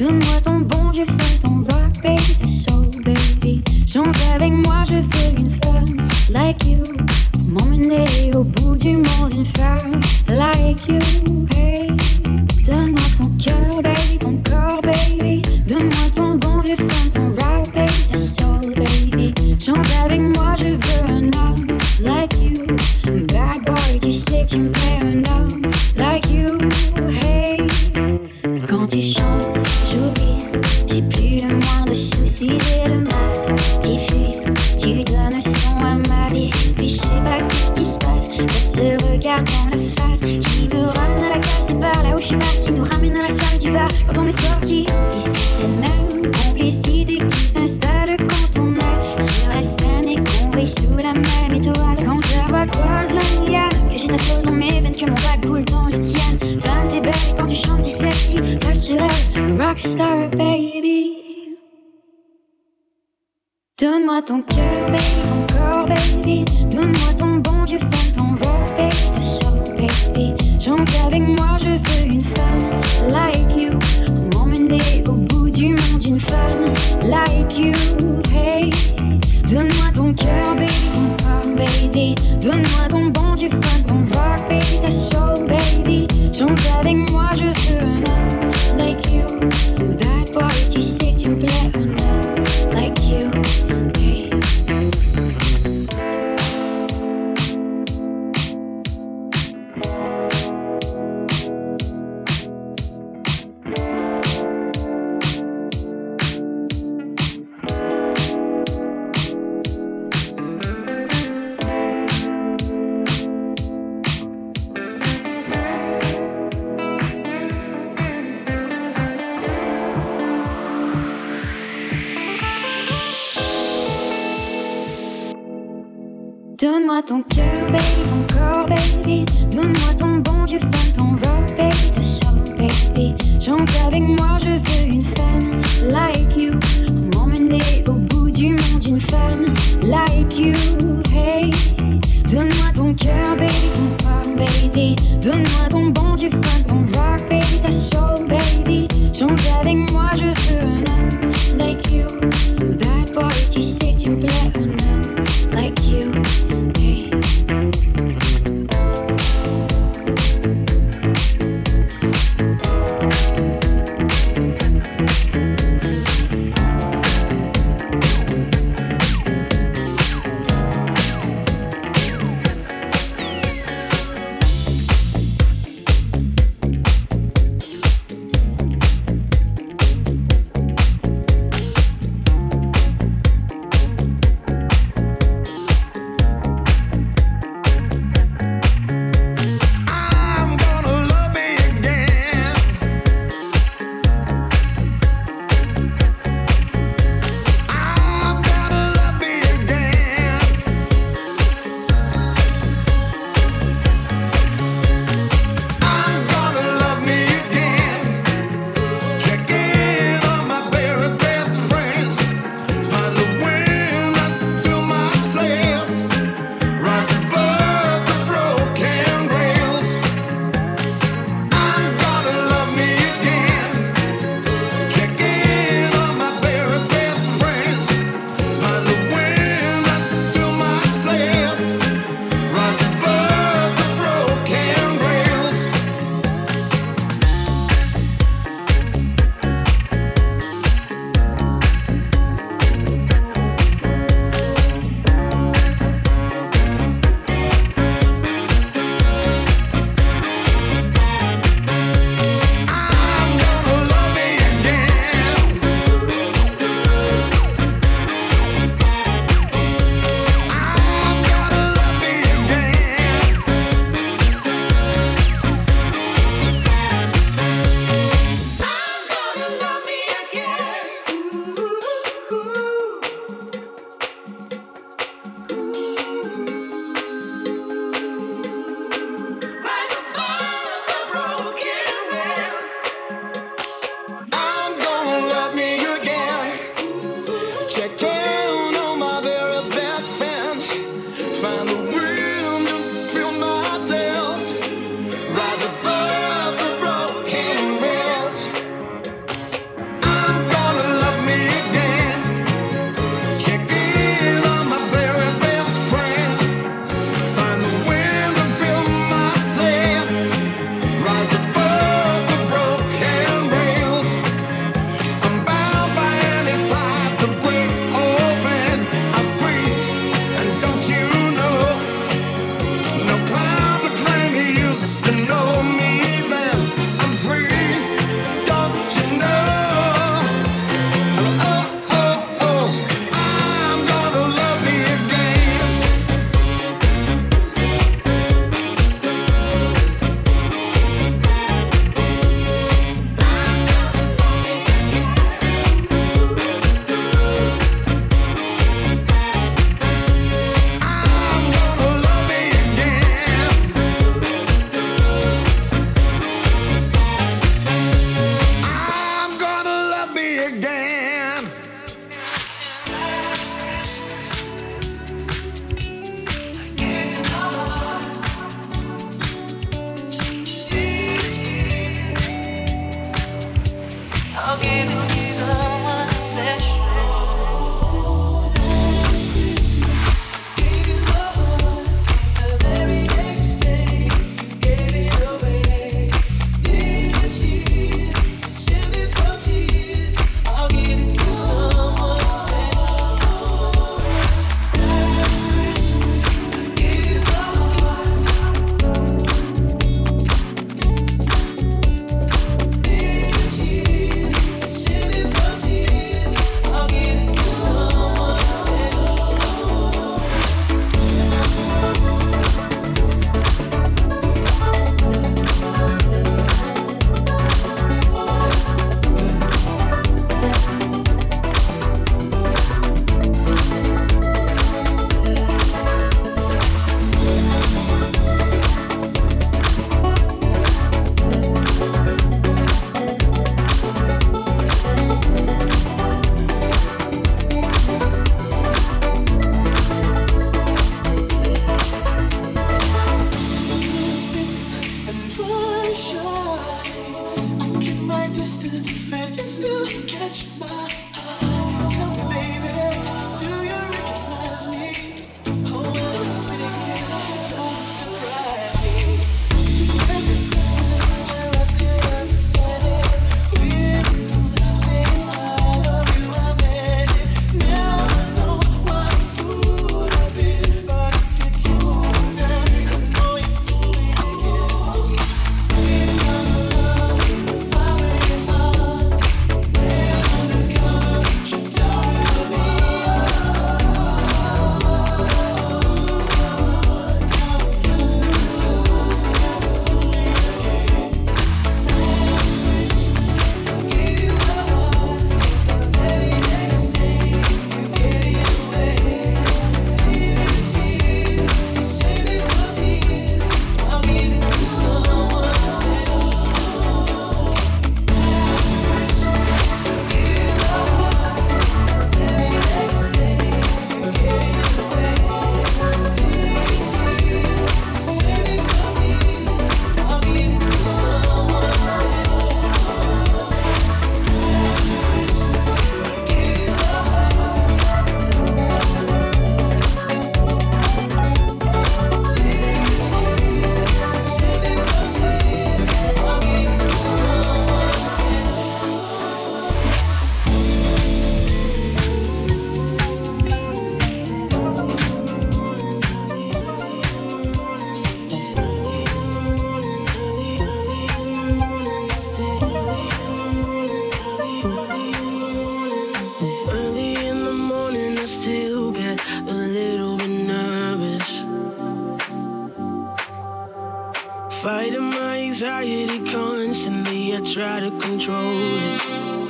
[SPEAKER 2] Donne-moi ton bon vieux fun, ton rock, baby, ta soul, baby. Chante avec moi, je veux une femme like you. Pour m'emmener au bout du monde, une femme like you, hey. Donne-moi ton cœur, baby, ton corps, baby. Donne-moi ton bon vieux fun, ton rock, baby, ta soul, baby. Chante avec moi, je veux un homme like you. Bad boy, tu sais que tu me plais, un homme like you, hey. Quand tu chantes, j'oublie, j'ai plus le moindre souci, j'ai le mal qui fuit. Tu donnes un son à ma vie, puis je sais pas qu'est-ce qui se passe. Y'a ce regard dans la face qui me ramène à la cage départ, là où je suis parti, nous ramène à la soirée du bar quand on est sorti. Et c'est cette même complicité qui s'installe quand on est sur la scène et qu'on brille sous la même étoile. Quand la voix croise la rivière, que j'ai ta soul dans mes veines, que mon bac coule dans les tiennes. Femme, t'es belle et quand tu chantes, t'es sexy. Flash sur elle, rockstar baby. Donne-moi ton cœur, baby, ton corps, baby. Donne-moi ton bon vieux fun, ton rock, baby, ta soul, baby. Chante avec moi, je veux une femme like you. Pour m'emmener au bout du monde, une femme like you, hey. Donne-moi ton cœur, baby, ton corps, baby. Donne-moi ton bon vieux fun, ton rock, baby, ta soul, baby. Chante avec moi, je veux un homme like you. Bad boy, tu sais que tu me plais, un homme like you, hey. Donne-moi ton cœur, baby, ton corps, baby. Donne-moi ton bon vieux fun, ton rock, baby, ta soul, baby. Chante avec moi, je veux une femme like you. Pour m'emmener au bout du monde, une femme like you, hey. Donne-moi ton cœur, baby, ton corps, baby. Donne-moi ton bon vieux fun, ton rock, baby, ta soul, baby. Chante avec moi, je veux un homme like you. Bad boy, tu sais que tu me plais, un homme like you.
[SPEAKER 10] Fighting my anxiety constantly, I try to control it.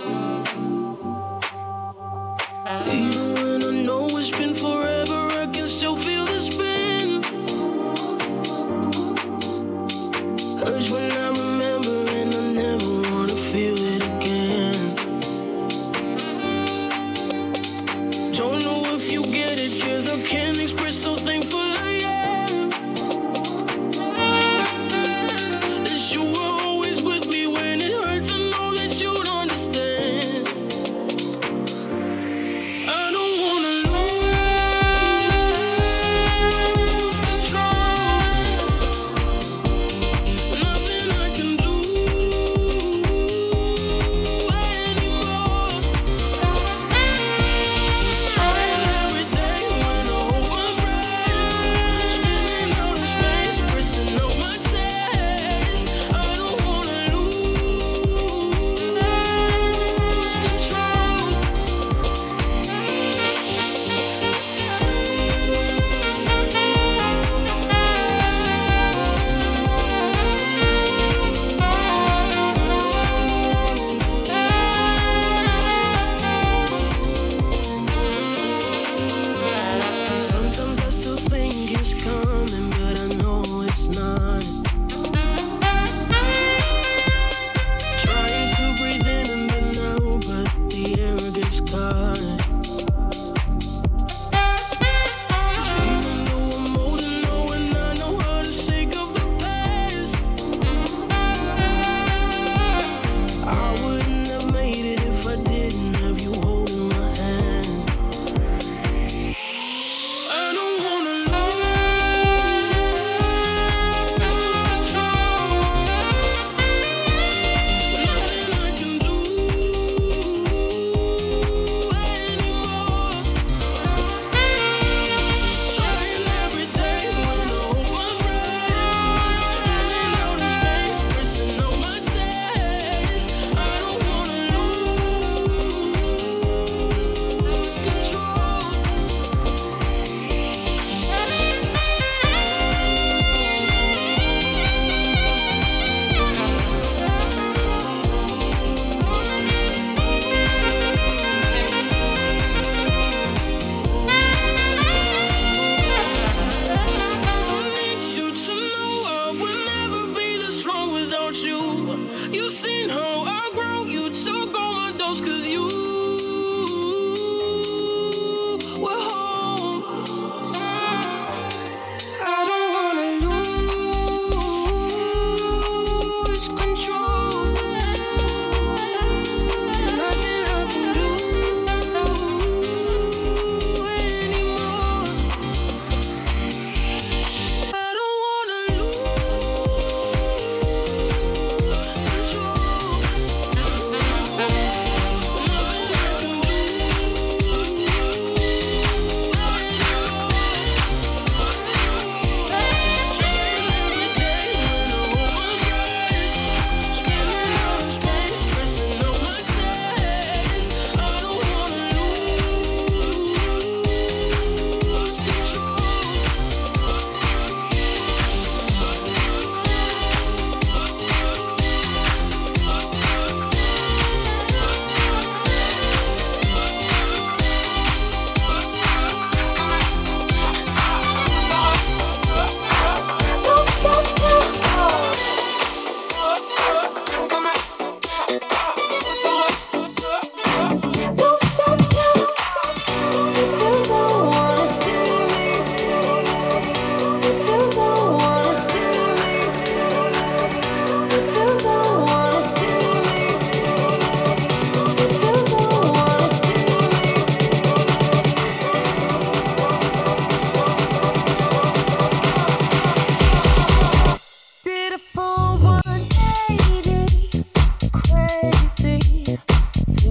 [SPEAKER 10] Even when I know it's been forever, I can still feel the spin. Hurts when I remember and I never wanna feel it again. Don't know if you get it, 'cause I can't express so thankful I am. That you were always with me when it hurts, I know that you'd understand. I don't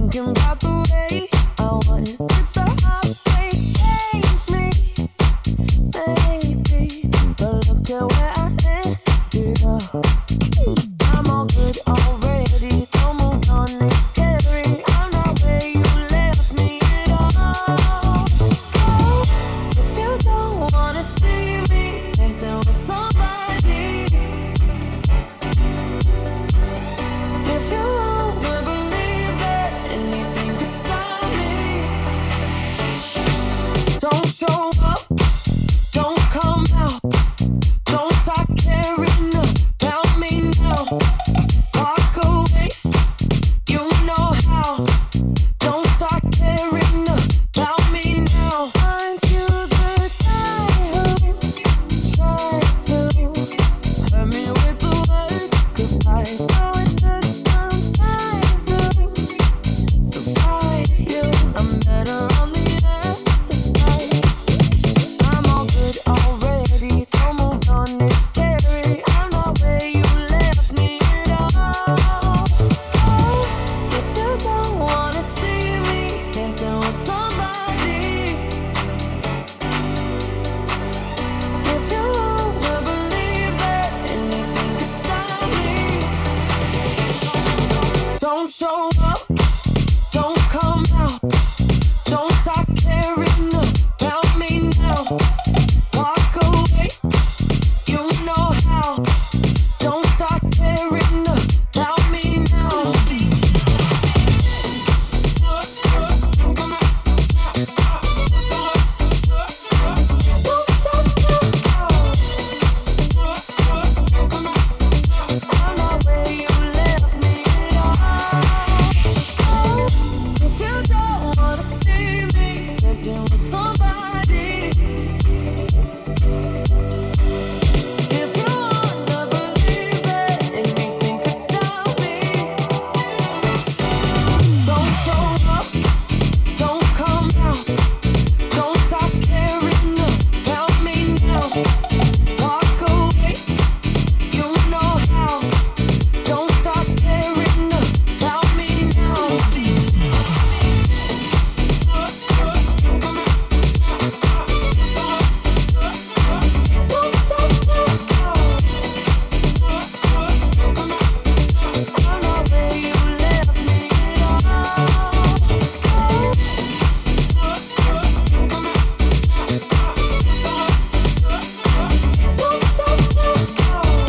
[SPEAKER 7] thinking about the way I was. Did the heartbreak change me? Maybe, but look at where I ended up. I'm all good already, so moved on. It's scary. I'm not where you left me at all. So if you don't wanna see me dancing with somebody, if you wanna believe that anything could stop me, don't show up, don't come out, don't start caring about me now. Walk away, you know how. Don't start caring about me now. Aren't you the guy who tried to hurt me with the word goodbye? Though it took some time to survive you, I'm better on the other side. I'm all good already, so moved on. It's scary. I'm not where you left me at all. So if you don't wanna see me dancing with somebody, if you wanna believe that anything could stop me, don't show up, don't come out, don't start caring about me now. Walk away, you know how. Don't start caring about me now. I'm not where you left me at all. So if you don't wanna see me dancing with somebody, if you wanna believe that anything could stop me, don't show up, don't come out, don't stop caring about me now. Walk away, you know how. Don't stop caring about me now. Don't stop I'm not where you left me at all. So don't stop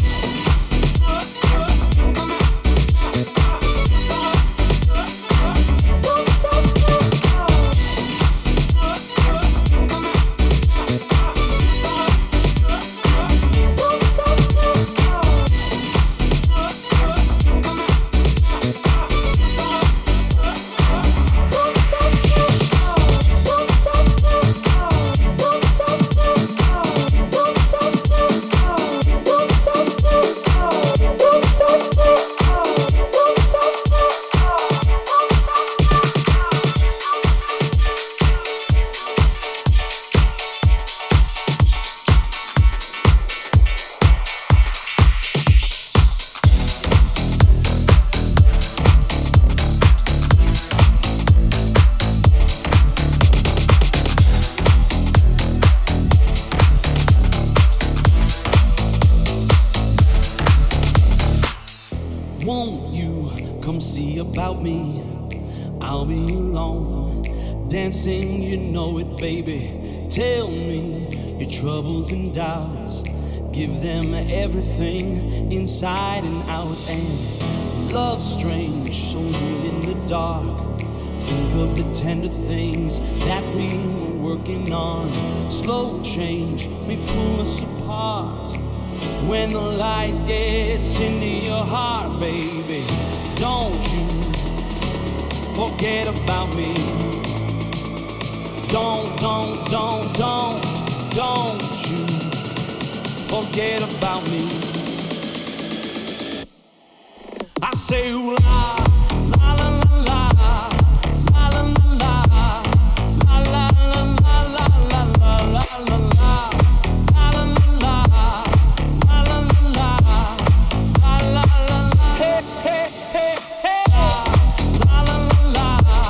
[SPEAKER 3] Won't you come see about me? I'll be alone, dancing, you know it, baby. Tell me your troubles and doubts. Give them everything inside and out. And love's strange, so real in the dark. Think of the tender things that we were working on. Slow change may pull us apart. When the light gets into your heart, baby, don't you forget about me. Don't you forget about me. I say ooh la, la la la la, la la la la, la la la la la la la la la. Hey, hey, hey, hey. La la la la.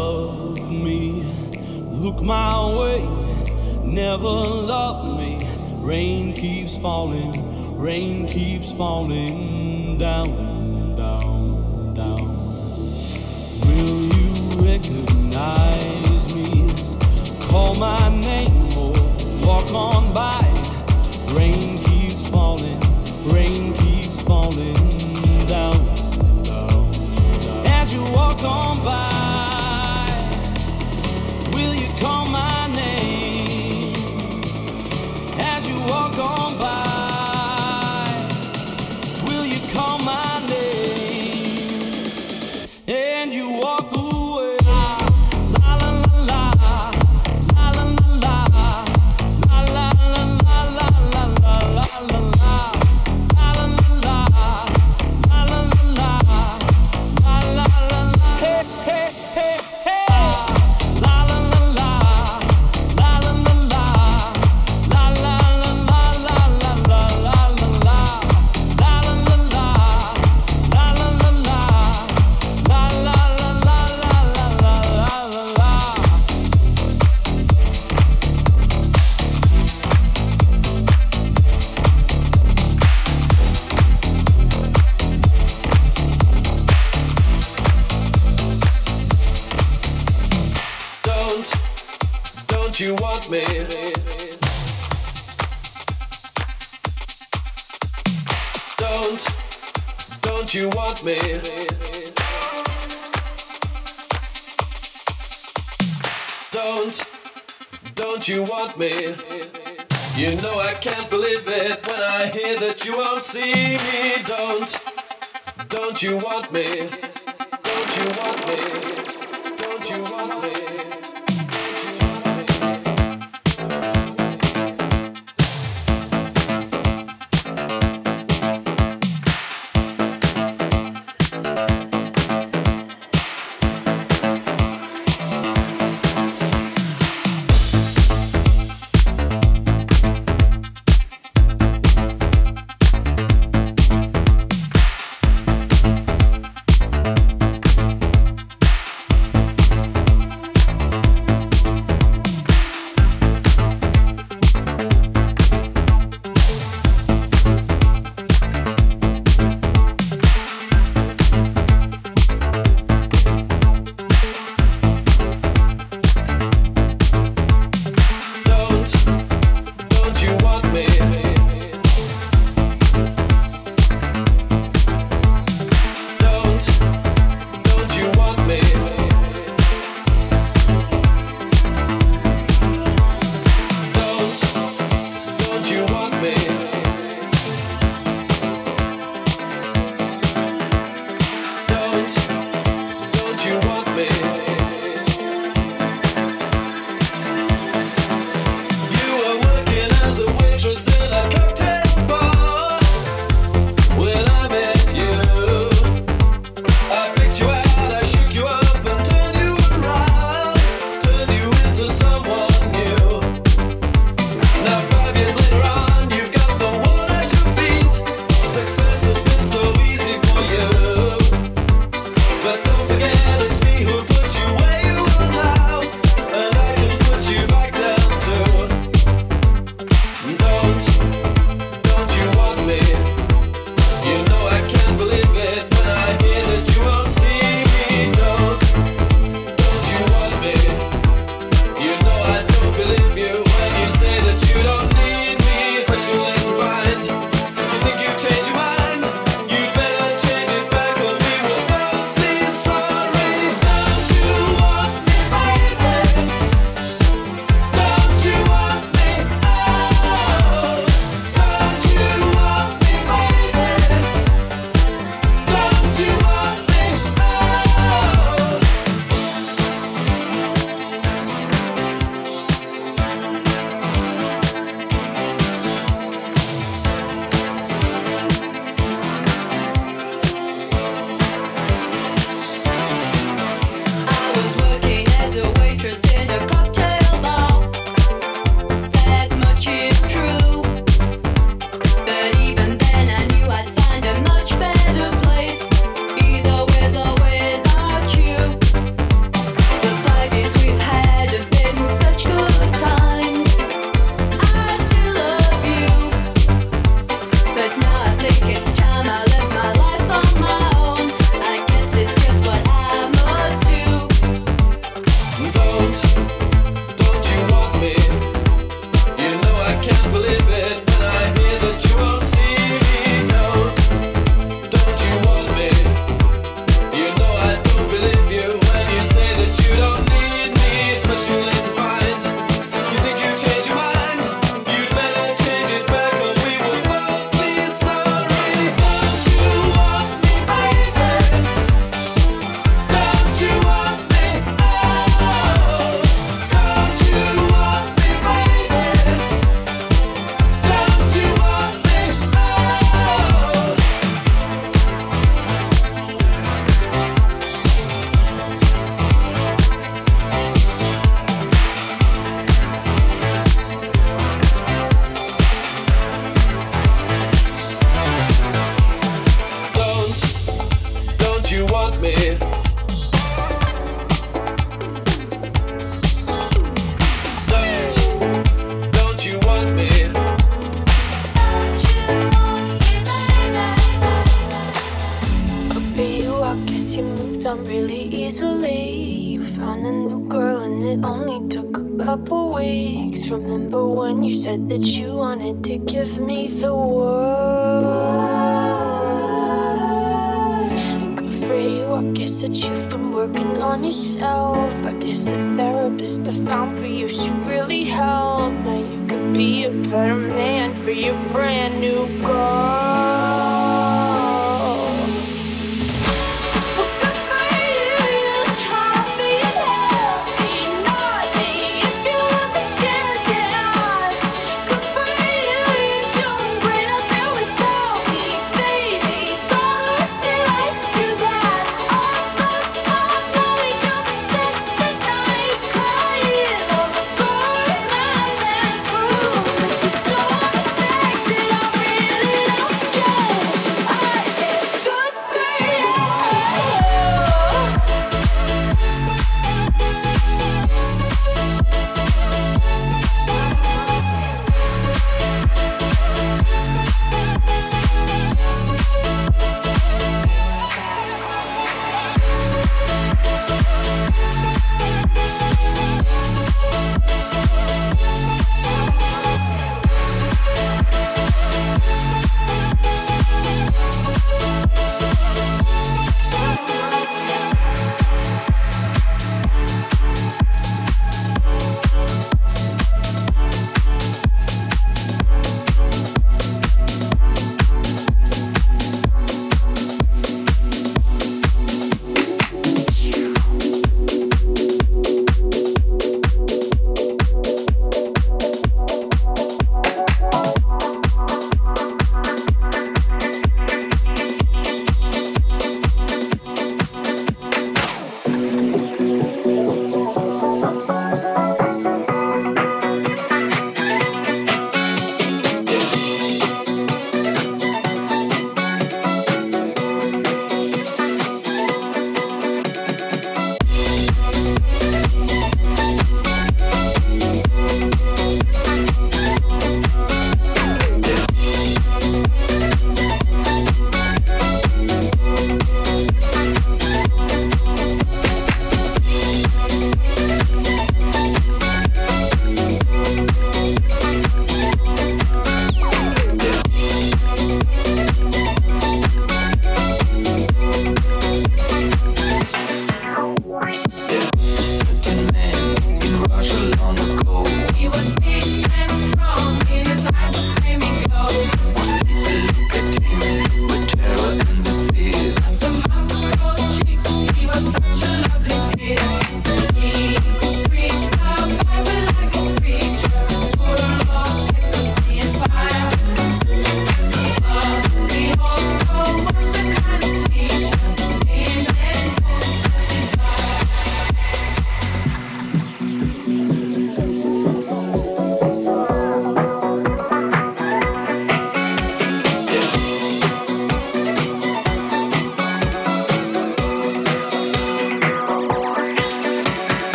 [SPEAKER 3] love me. Look my way, never love me. Rain keeps falling down, down, down. Will you recognize me? Call my name or walk on by. Rain keeps falling down, down, down. As you walk on by, will you call my name? As you walk on by, will you call my name? And you walk away. La la la la, la la la la, la la la la la la la la la. Don't you want me? Don't you want me? Don't you want me? You know I can't believe it when I hear that you won't see me. Don't you want me? Don't you want me? Don't you want me?
[SPEAKER 2] it only took a couple weeks. Remember when you said that you wanted to give me the world? Good for you, I guess that you've been working on yourself. I guess the therapist I found for you should really help. Now you could be a better man for your brand new girl.
[SPEAKER 11] Yeah.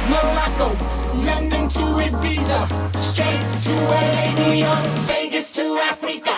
[SPEAKER 5] Morocco, London to Ibiza, straight to LA, New York, Vegas to Africa.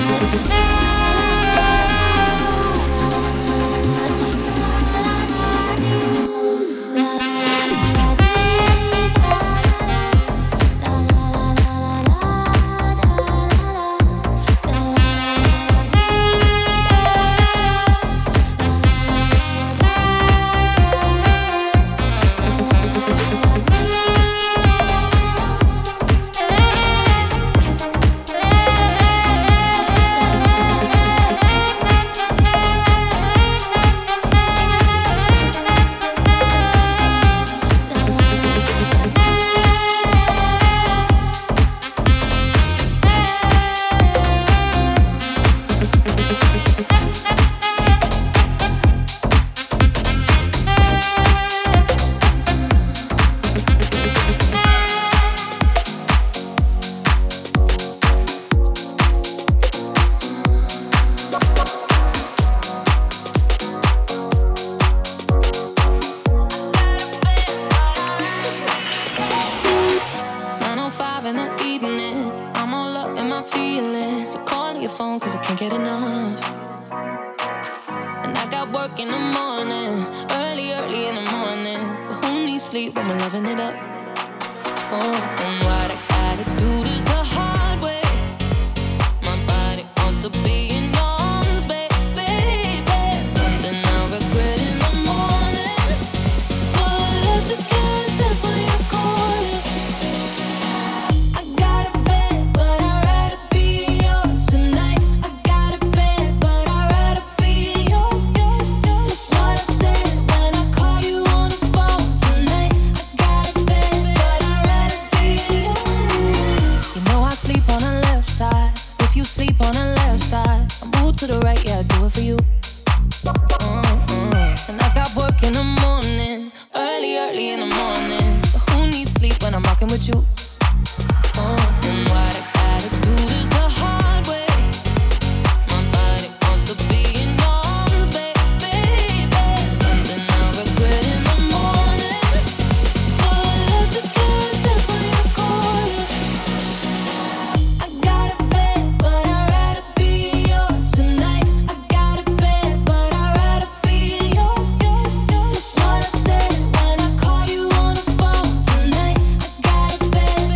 [SPEAKER 2] bed.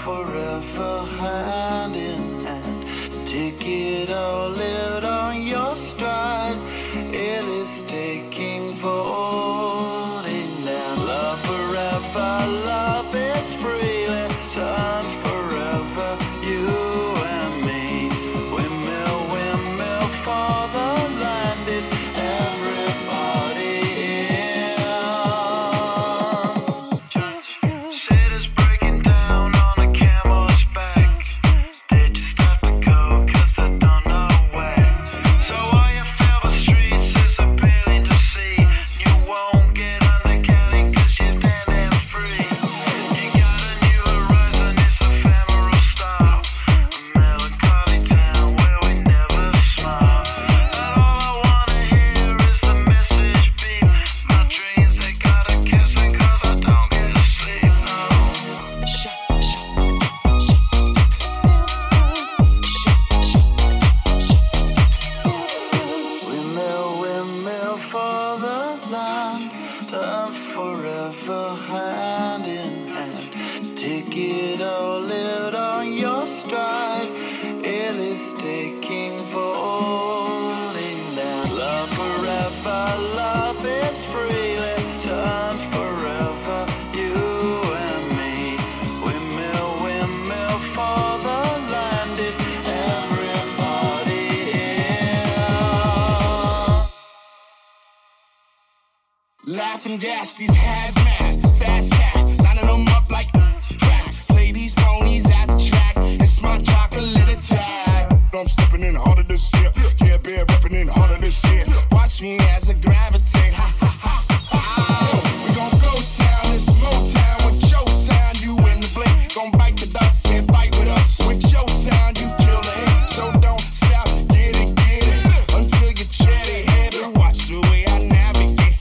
[SPEAKER 11] forever hand in hand. Take it all, live on your stride. It is taking folding down. Love forever, love is freely turned forever. You and me, windmill, windmill for the landed. Everybody in. Cities breaking down on a camel's back. They just have to go 'cause they don't know where. So all you feel the streets is appealing to see. You won't get undercounted 'cause you're standing free. You got a new horizon, it's ephemeral style. A melancholy town where we never smile. And all I wanna hear is the message beep. My dreams, they gotta kiss it 'cause I don't get to sleep. Windmill, windmill for the land, love forever hand in hand. Take it all, live on your stride. It is taking falling down. Love forever, love is freely turned forever. You and me, windmill, windmill for the landed. Everybody in.
[SPEAKER 12] Laughing gas, these hazmat, fast cat, lining them up like crack. Play these ponies at the track, it's my chocolate attack. I'm stepping in harder this year, yeah, bear repping in harder this year. Watch me as I gravitate, ha ha ha ha. We gon' ghost town, this Motown with your sound, you in the blink. Gon' bite the dust and fight with us. With your sound, you kill the ink, so don't stop, get it, until you tread it heavy. Watch the way I navigate.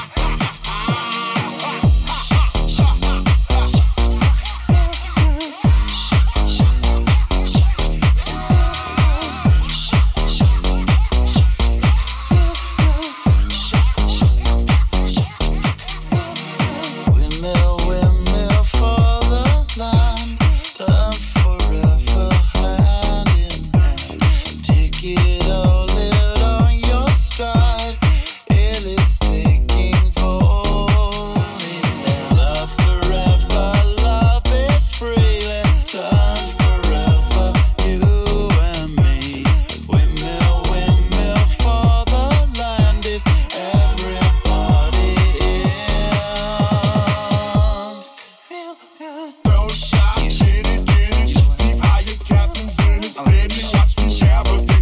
[SPEAKER 11] Windmill, windmill for the land, love forever hand in hand. Take it all, live on your stride. It is taking falling down. Love forever, love is freely turned forever. You and me, windmill, windmill for the land is everybody in.
[SPEAKER 12] Throw shot, get it, keep higher captains in it, steady, watch me navigate.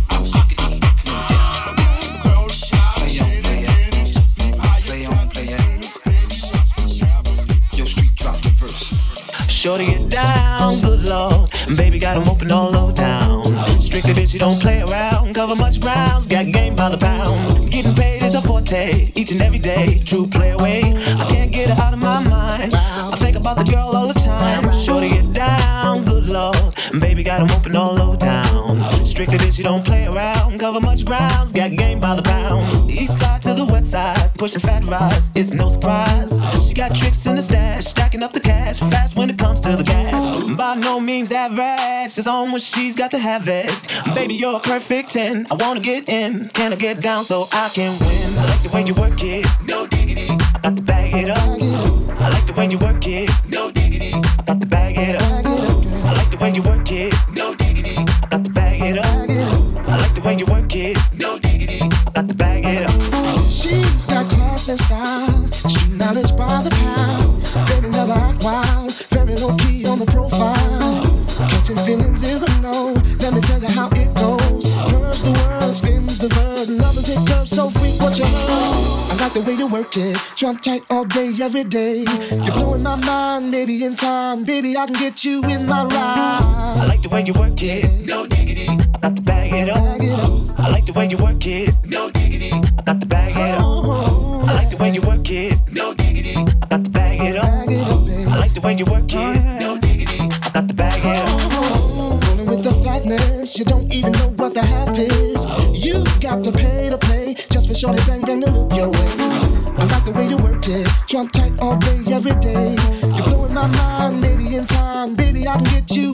[SPEAKER 12] Throw shot, get it, keep higher captains in it, steady, watch me navigate.
[SPEAKER 3] Yo, street drop the verse. Shorty get down, good lord. Baby got 'em open all over town. Strictly bitch, you don't play around. Cover much grounds, got game by the pound. Getting paid is a forte, each and every day. True play away, I can't get her out of my mind. I think about the girl all the time. Shorty get down, good lord. Baby got 'em open all over town. Strictly bitch, you don't play around. Cover much grounds, got game by the pound. East side to the west side, pushing fat rides, it's no surprise. She got tricks in the stash, stacking up the cash, fast when it comes to the gas. By no means average, it's on when she's got to have it. Baby, you're a perfect 10, I wanna get in. Can I get down so I can win? I like the way you work it, no diggity. I got to bag it up. I like the way you work it, no diggity. I got to bag it up. I like the way you work it, no diggity. I got to bag it up. I like the way you work it, no diggity. I got to bag it up.
[SPEAKER 10] She's got class and style, street knowledge by the pound. Baby never act wild, very low key on the profile. Catching feelings is a no, let me tell you how it goes. Curves the world, spins the verb, lovers it curves so freak what you heard. I like the way you work it, trump tight all day, every day. You're blowing my mind, maybe in time, baby I can get you in my ride.
[SPEAKER 3] I like the way you work it, no diggity. I got to bag it up. I like the way you work it, no diggity. I got to bag it up. I like the way you work it, no diggity. I got to bag it up. I like the way you work it, no diggity. I got to bag it up.
[SPEAKER 10] Rolling with the fatness, you don't even know what the half is. You got to play just for shorty bang bang to look your way. I like the way you work it, trump tight all day, every day. You're blowing my mind, maybe in time, baby I can get you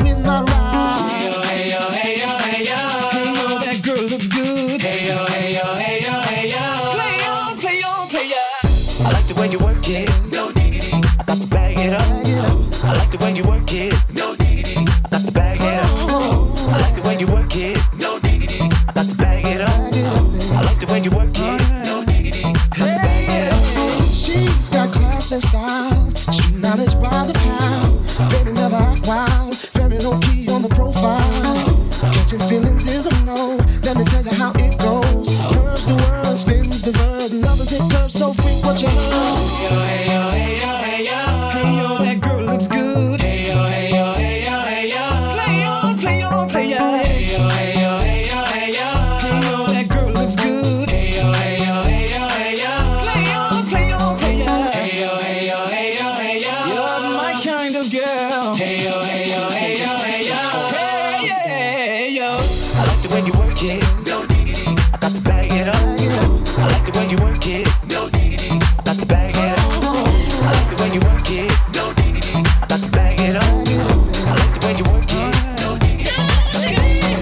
[SPEAKER 13] way you work it. No diggity. I got to bag it up. I like the way you work it. No diggity. I got to bag it up. I like the way you work it. No diggity. I got to bag it up.
[SPEAKER 10] She's got class and style, street knowledge by the pound. Baby never act wild, very low key on the profile. Catching feelings is a no. Let me tell you how it goes. Curves the word, spins the verb. Lovers hit curves so freak what you heard.
[SPEAKER 3] Hey yo, hey yo, hey yo, hey yo. Hey yo, that girl looks good. Hey yo, hey yo, hey yo, hey yo. Play on, play on, play on. Hey yo, hey yo, hey yo, hey yo. Hey yo, that girl looks good. Hey yo, hey yo, hey yo, hey yo. Play on, play on, play on. Hey yo, hey yo, hey yo, hey yo. You're my kind of girl. Hey yo, hey yo, hey yo, hey yo. Hey yeah, yo.
[SPEAKER 13] I like the way you work it. No diggity. I got to bag it up. I like the way you work it. No diggity. I got to bag it up. I like the way you work it. No diggity. I got to bag it up. I like the way you work it. No diggity. I like the way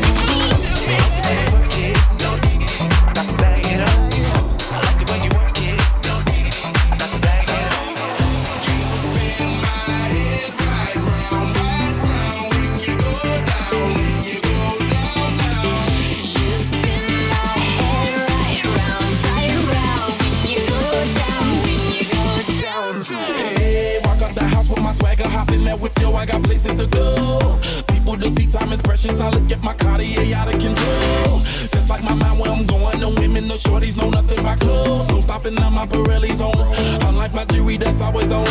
[SPEAKER 13] you work it. No diggity. I got to bag it up. I like the way you work it. No diggity. I got to bag it up.
[SPEAKER 8] Spin my head right round when you go down, when you go down, down.
[SPEAKER 4] You spin my head right round when you go down, when you go down.
[SPEAKER 14] Hey, walk up the house with my swagger, hop in that whip, yo, I got places to go. People to see, time is precious, I look at my Cartier out of control. Just like my mind where I'm going, the women, the shorties know nothing about clothes. No stopping on my Pirelli's on, unlike my jewelry that's always on.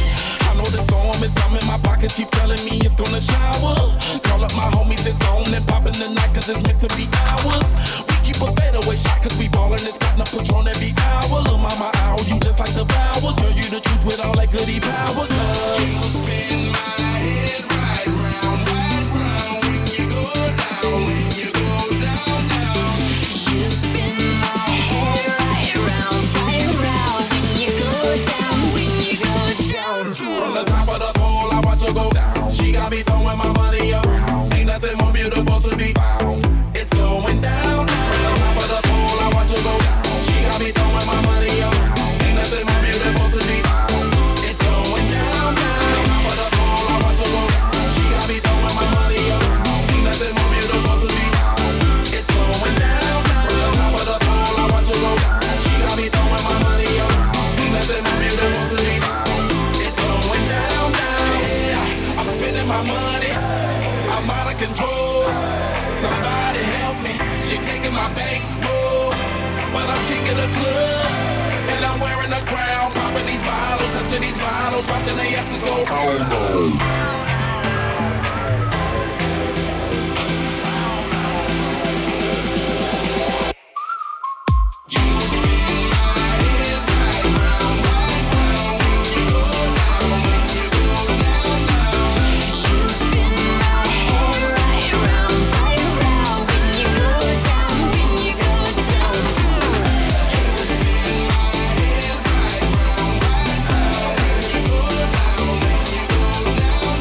[SPEAKER 14] I know the storm is coming, my pockets keep telling me it's gonna shower. Call up my homies, it's on and popping the night cause it's meant to be ours. We keep a fadeaway shot cause we ballin' this platinum Patron every hour. Lil' mama owl, you just like the vowels. Girl, you the truth with all that goody power. Cause
[SPEAKER 8] Spin my head right round when you go down, when you go down, down.
[SPEAKER 4] You spin my head right round when you go down, when you go down.
[SPEAKER 14] from the top of the pole, I watch her go down. She got me throwing my money around. Ain't nothing more beautiful to be found. It's going down, down. From the top of the pole, I watch her go down. She got me throwing my money around. Ain't nothing more beautiful to be found. It's going down, down. From the top of the pole, I watch her go down. She got me throwing my money around. Ain't nothing more beautiful to be found. It's going down, down. From the top of the pole, I watch her go down. She got me throwing my money around. Ain't nothing more beautiful to be found. It's going down, down. Yeah, I'm spending my money. I'm out of control. Somebody help me. She taking my bankroll, but I'm king of the club, and I'm wearing a crown. Popping these bottles, touching these bottles, watching the asses go. Oh no.
[SPEAKER 8] Down.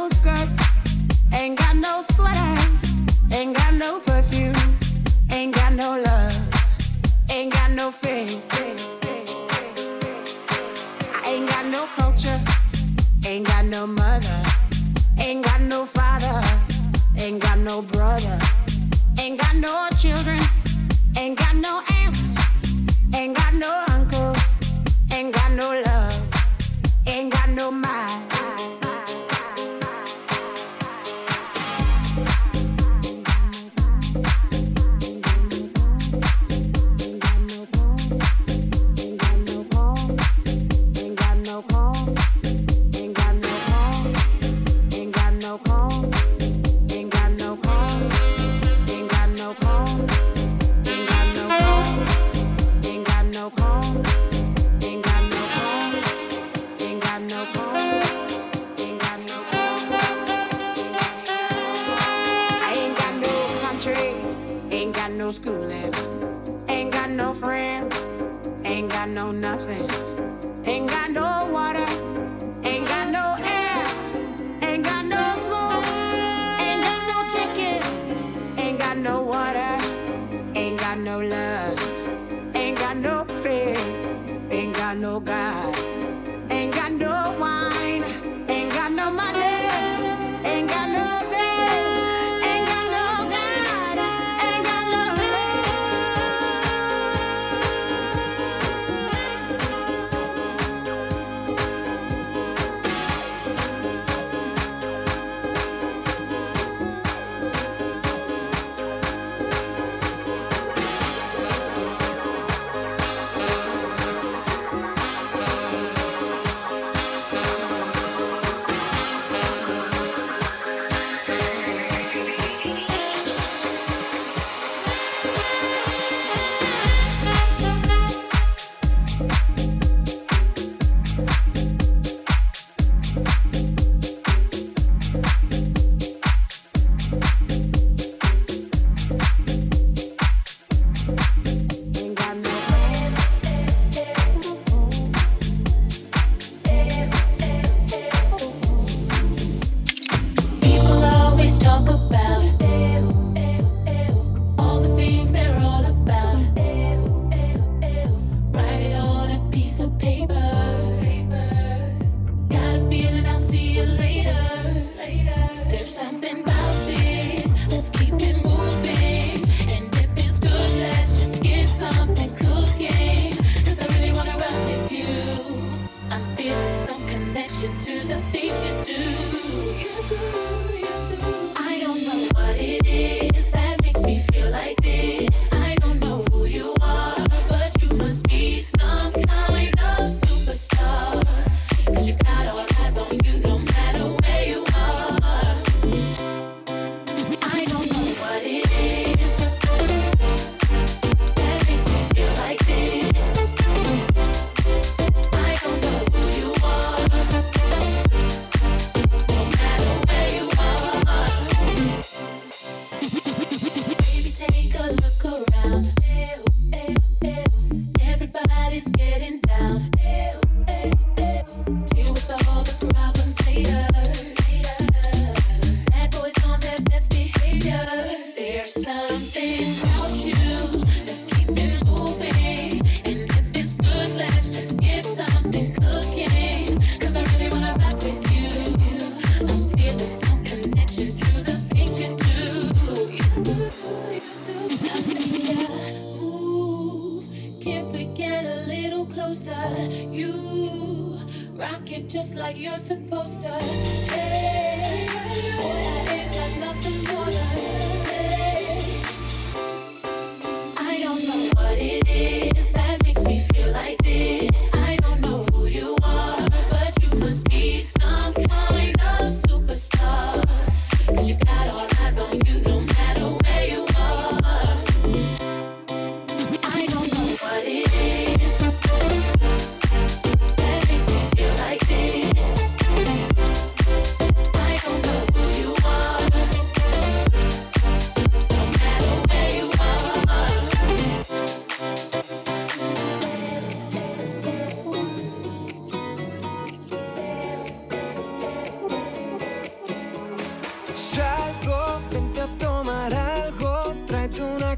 [SPEAKER 15] no skirts, ain't got no sweater, ain't got no perfume, ain't got no love, ain't got no fame. I ain't got no culture, ain't got no mother, ain't got no father, ain't got no brother, ain't got no children, ain't got no aunts, ain't got no uncle, ain't got no love, ain't got no mind. No schooling, ain't got no friends, ain't got no nothing, ain't got no water, ain't got no air, ain't got no smoke, ain't got no ticket, ain't got no water, ain't got no love, ain't got no faith, ain't got no God, ain't got no wine, ain't got no money, ain't got no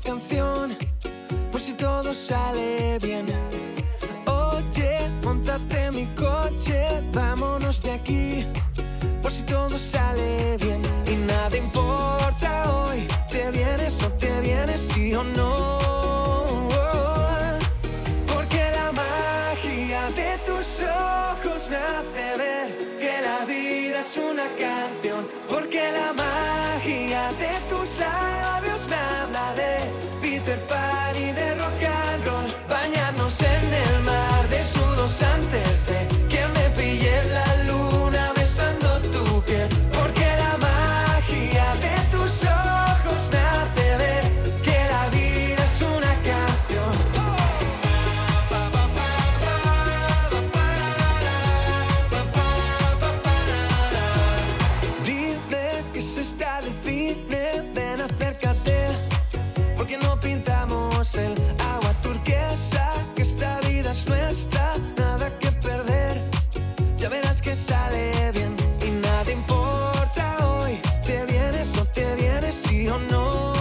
[SPEAKER 16] canción, por si todo sale bien. Oye, móntate en mi coche, vámonos de aquí, por si todo sale bien. Y nada importa hoy, te vienes o te vienes, sí o no. Porque la magia de tus ojos me hace ver que la vida es una canción. Porque la magia de tus labios me habla de Peter Pan y de rock and roll. Bañarnos en el mar desnudos antes de que me pille la luna besando tu piel. Porque la magia de tus ojos me hace ver que la vida es una canción. Dime que se está de cine, ven acércate, porque no pintamos el agua turquesa, que esta vida es nuestra, nada que perder, ya verás que sale bien. Y nada importa hoy, te vienes o te vienes, sí o no.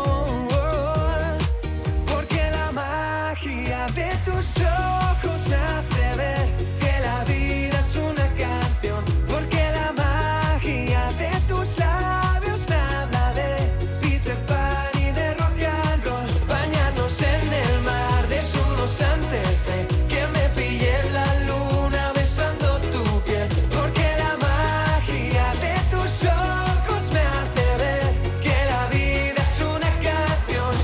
[SPEAKER 16] Porque la magia de tus ojos me hace ver que la vida es una canción. Porque la magia de tus labios me habla de Peter Pan y de rock and roll. Bañarnos en el mar desnudos antes de que me pille la luna besando tu piel. Porque la magia de tus ojos me hace ver que la vida es una canción.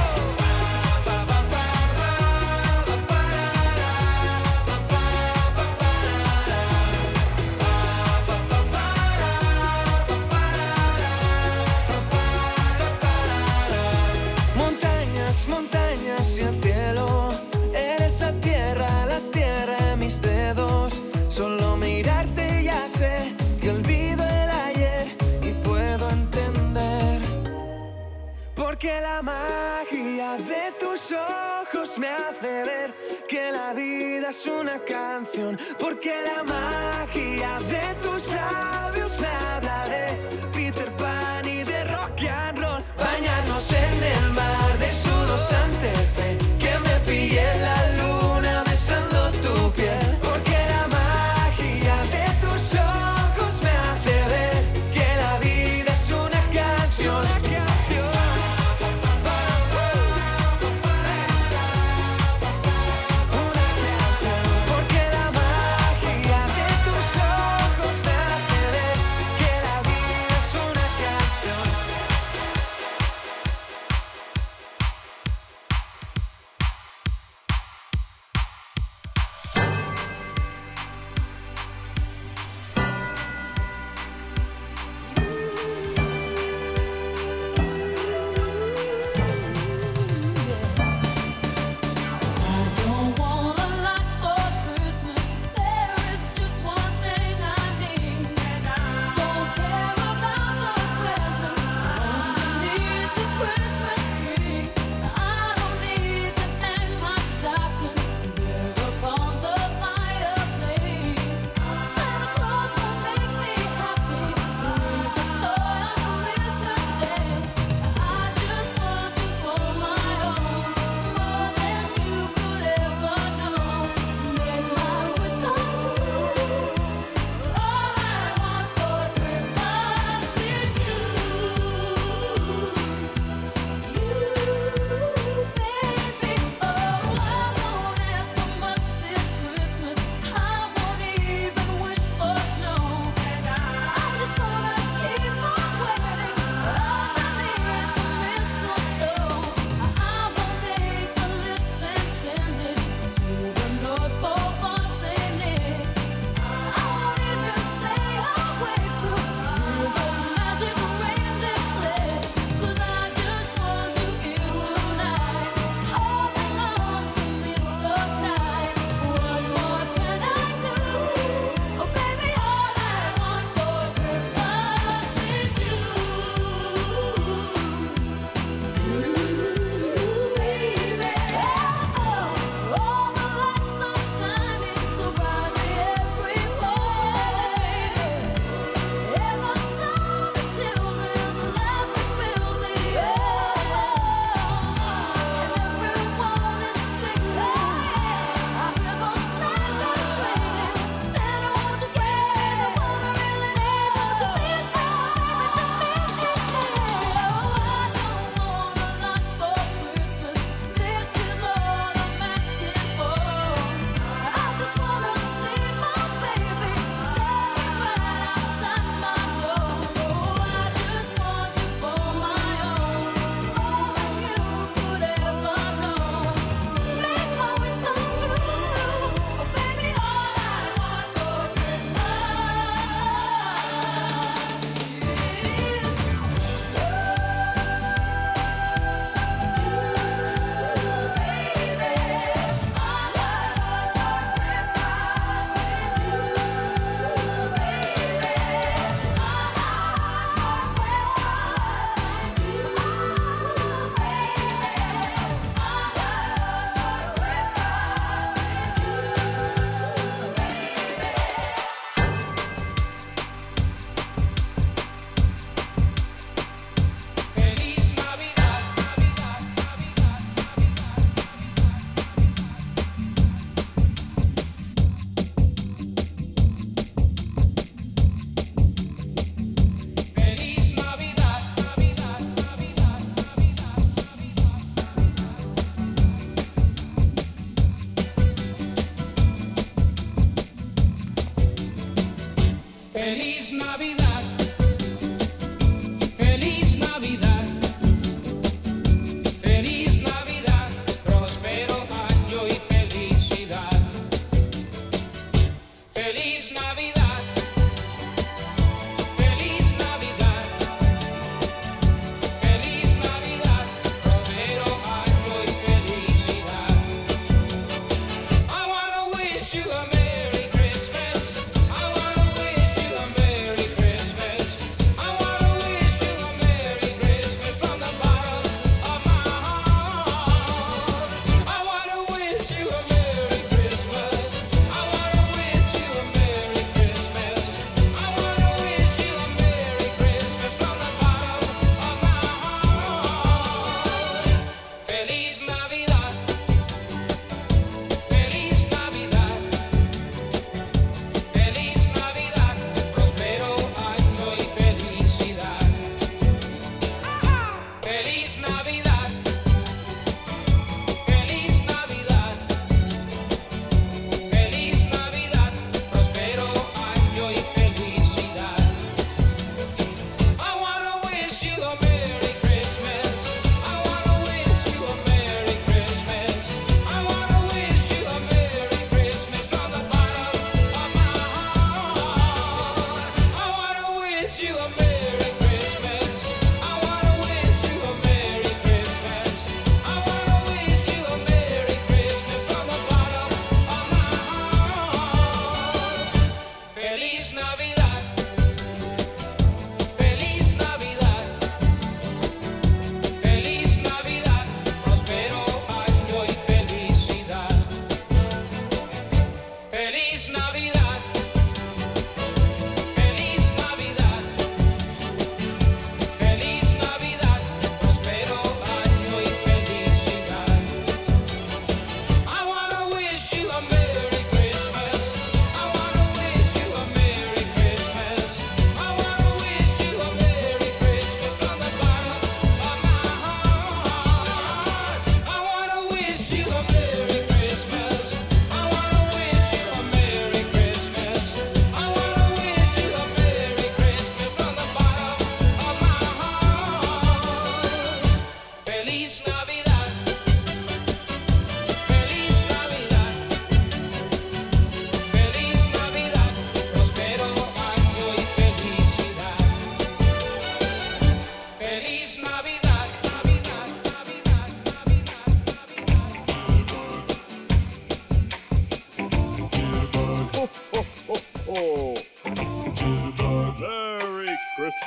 [SPEAKER 16] Montañas, montañas y el cielo, eres la tierra en mis dedos. Solo mirarte ya sé que olvido el ayer y puedo entender. Porque la magia de tus ojos me hace ver que la vida es una canción. Porque la magia de tus labios me habla de Peter Pan y de rock and roll. Bañarnos en el mar desnudos antes de que me pille la luna besando tu piel. Porque la magia de tus ojos me hace ver que la vida es una canción. Porque la magia de tus ojos me hace ver que la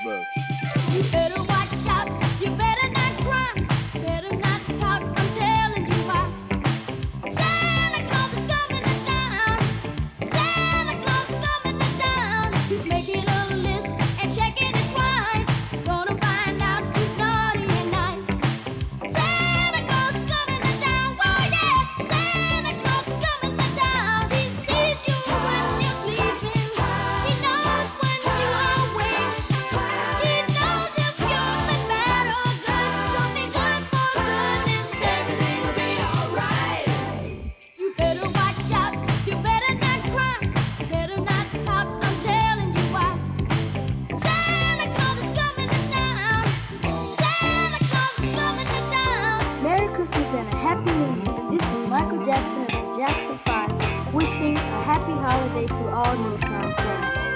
[SPEAKER 17] Christmas.
[SPEAKER 2] You better watch out, you better not cry, better not pout, I'm telling you why. Santa Claus is coming to town, Santa Claus is coming to town. He's making a list and checking it twice, gonna find out who's naughty and nice. Santa Claus is coming to town, oh yeah, Santa Claus is coming to town. He sees you when you're sleeping, he knows when you are awake, he knows if you've been bad or good, so be good for goodness sake. Everything will be alright. You better watch out, you better not cry, better not pout, I'm telling you why. Santa Claus is coming to town, Santa Claus is coming to town.
[SPEAKER 18] Merry Christmas and a Happy New Year. This is Michael Jackson of the Jackson 5 wishing a happy holiday to all Newtown friends.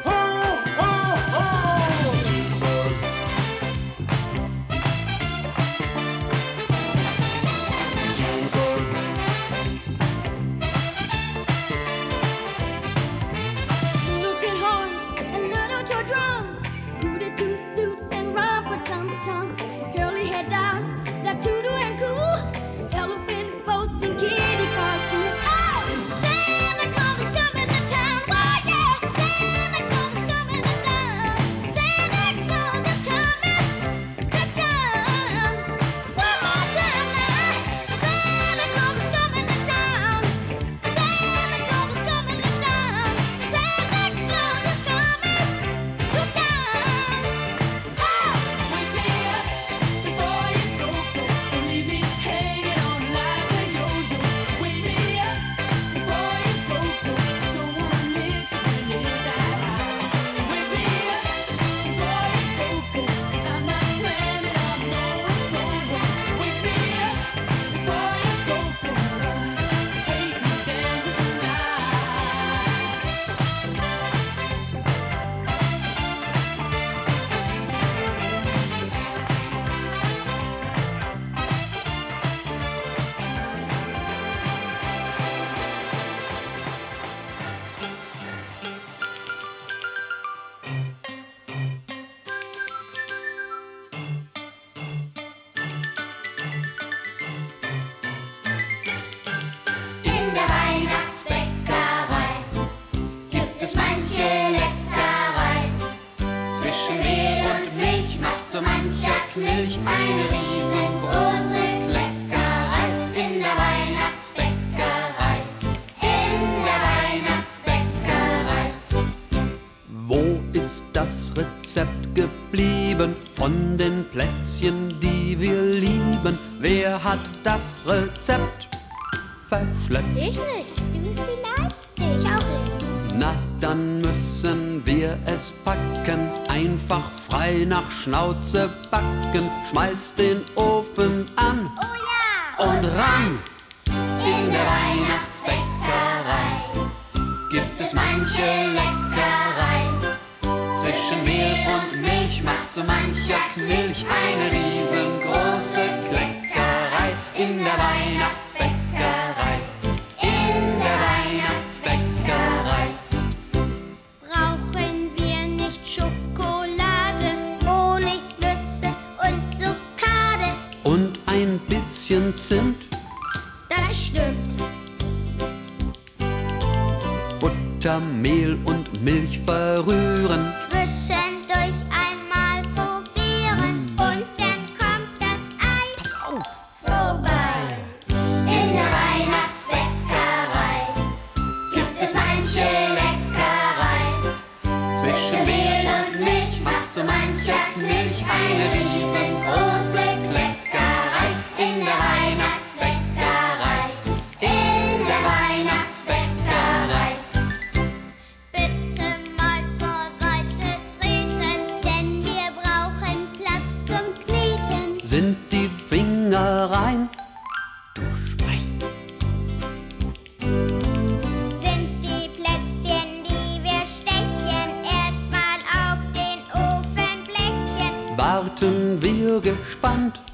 [SPEAKER 2] Little tin horns and little toy drums, rooty toot toot and rubber tum tums, curly head dolls that toodle and coo, elephant boats and kitty cars too. Oh, Santa Claus is coming to town. Oh yeah, Santa Claus is coming to town. Santa Claus is coming to town. One more time now. Santa Claus is coming to town. Santa Claus is coming to town. Santa Claus is coming to town. Oh, wake me up before you go, and leave me hanging on like a yo-yo. Wake me up before you go, don't wanna miss it when you hit that high. Wake me up before you go, 'cause I'm not planning on going solo. Wake me up before you go, take me dancing tonight.
[SPEAKER 19] In der Weihnachtsbäckerei gibt es manche Leckerei. Zwischen Mehl und Milch macht so mancher Knilch eine riesengroße Kleckerei. In der Weihnachtsbäckerei, in der Weihnachtsbäckerei.
[SPEAKER 6] Wo ist das Rezept geblieben von den Plätzchen, die wir lieben? Wer hat das Rezept verschleppt?
[SPEAKER 19] Ich nicht, du vielleicht? Ich auch nicht.
[SPEAKER 6] Na, dann müssen wir es packen, einfach frei nach Schnauze backen. Schmeiß den Ofen an und ran.
[SPEAKER 19] In der Weihnachtsbäckerei gibt es manche Leckerei.
[SPEAKER 6] Zwischen Mehl und Milch macht so mancher Knilch eine riesengroße Kleckerei. In der Weihnachtsbäckerei, in der Weihnachtsbäckerei.
[SPEAKER 19] Brauchen wir nicht Schokolade, Honig, Nüsse und Zuckade?
[SPEAKER 6] Und ein bisschen Zimt,
[SPEAKER 19] Das stimmt.
[SPEAKER 6] Butter, Mehl und Milch verrühren.
[SPEAKER 19] Zwischendurch einmal probieren und dann kommt das Ei.
[SPEAKER 6] Pass auf!
[SPEAKER 19] Vorbei. In der Weihnachtsbäckerei gibt es manche Leckerei.
[SPEAKER 6] Zwischen
[SPEAKER 19] Mehl und Milch macht so mancher Knilch eine riesengroße Kleckerei. In der Weihnachtsbäckerei, in der Weihnachtsbäckerei. Bitte mal zur Seite treten, denn wir brauchen Platz zum Kneten.
[SPEAKER 6] sind die Finger rein.
[SPEAKER 19] Sind die Plätzchen, die wir stechen, erstmal auf den Ofenblechen.
[SPEAKER 6] Warten wir gespannt.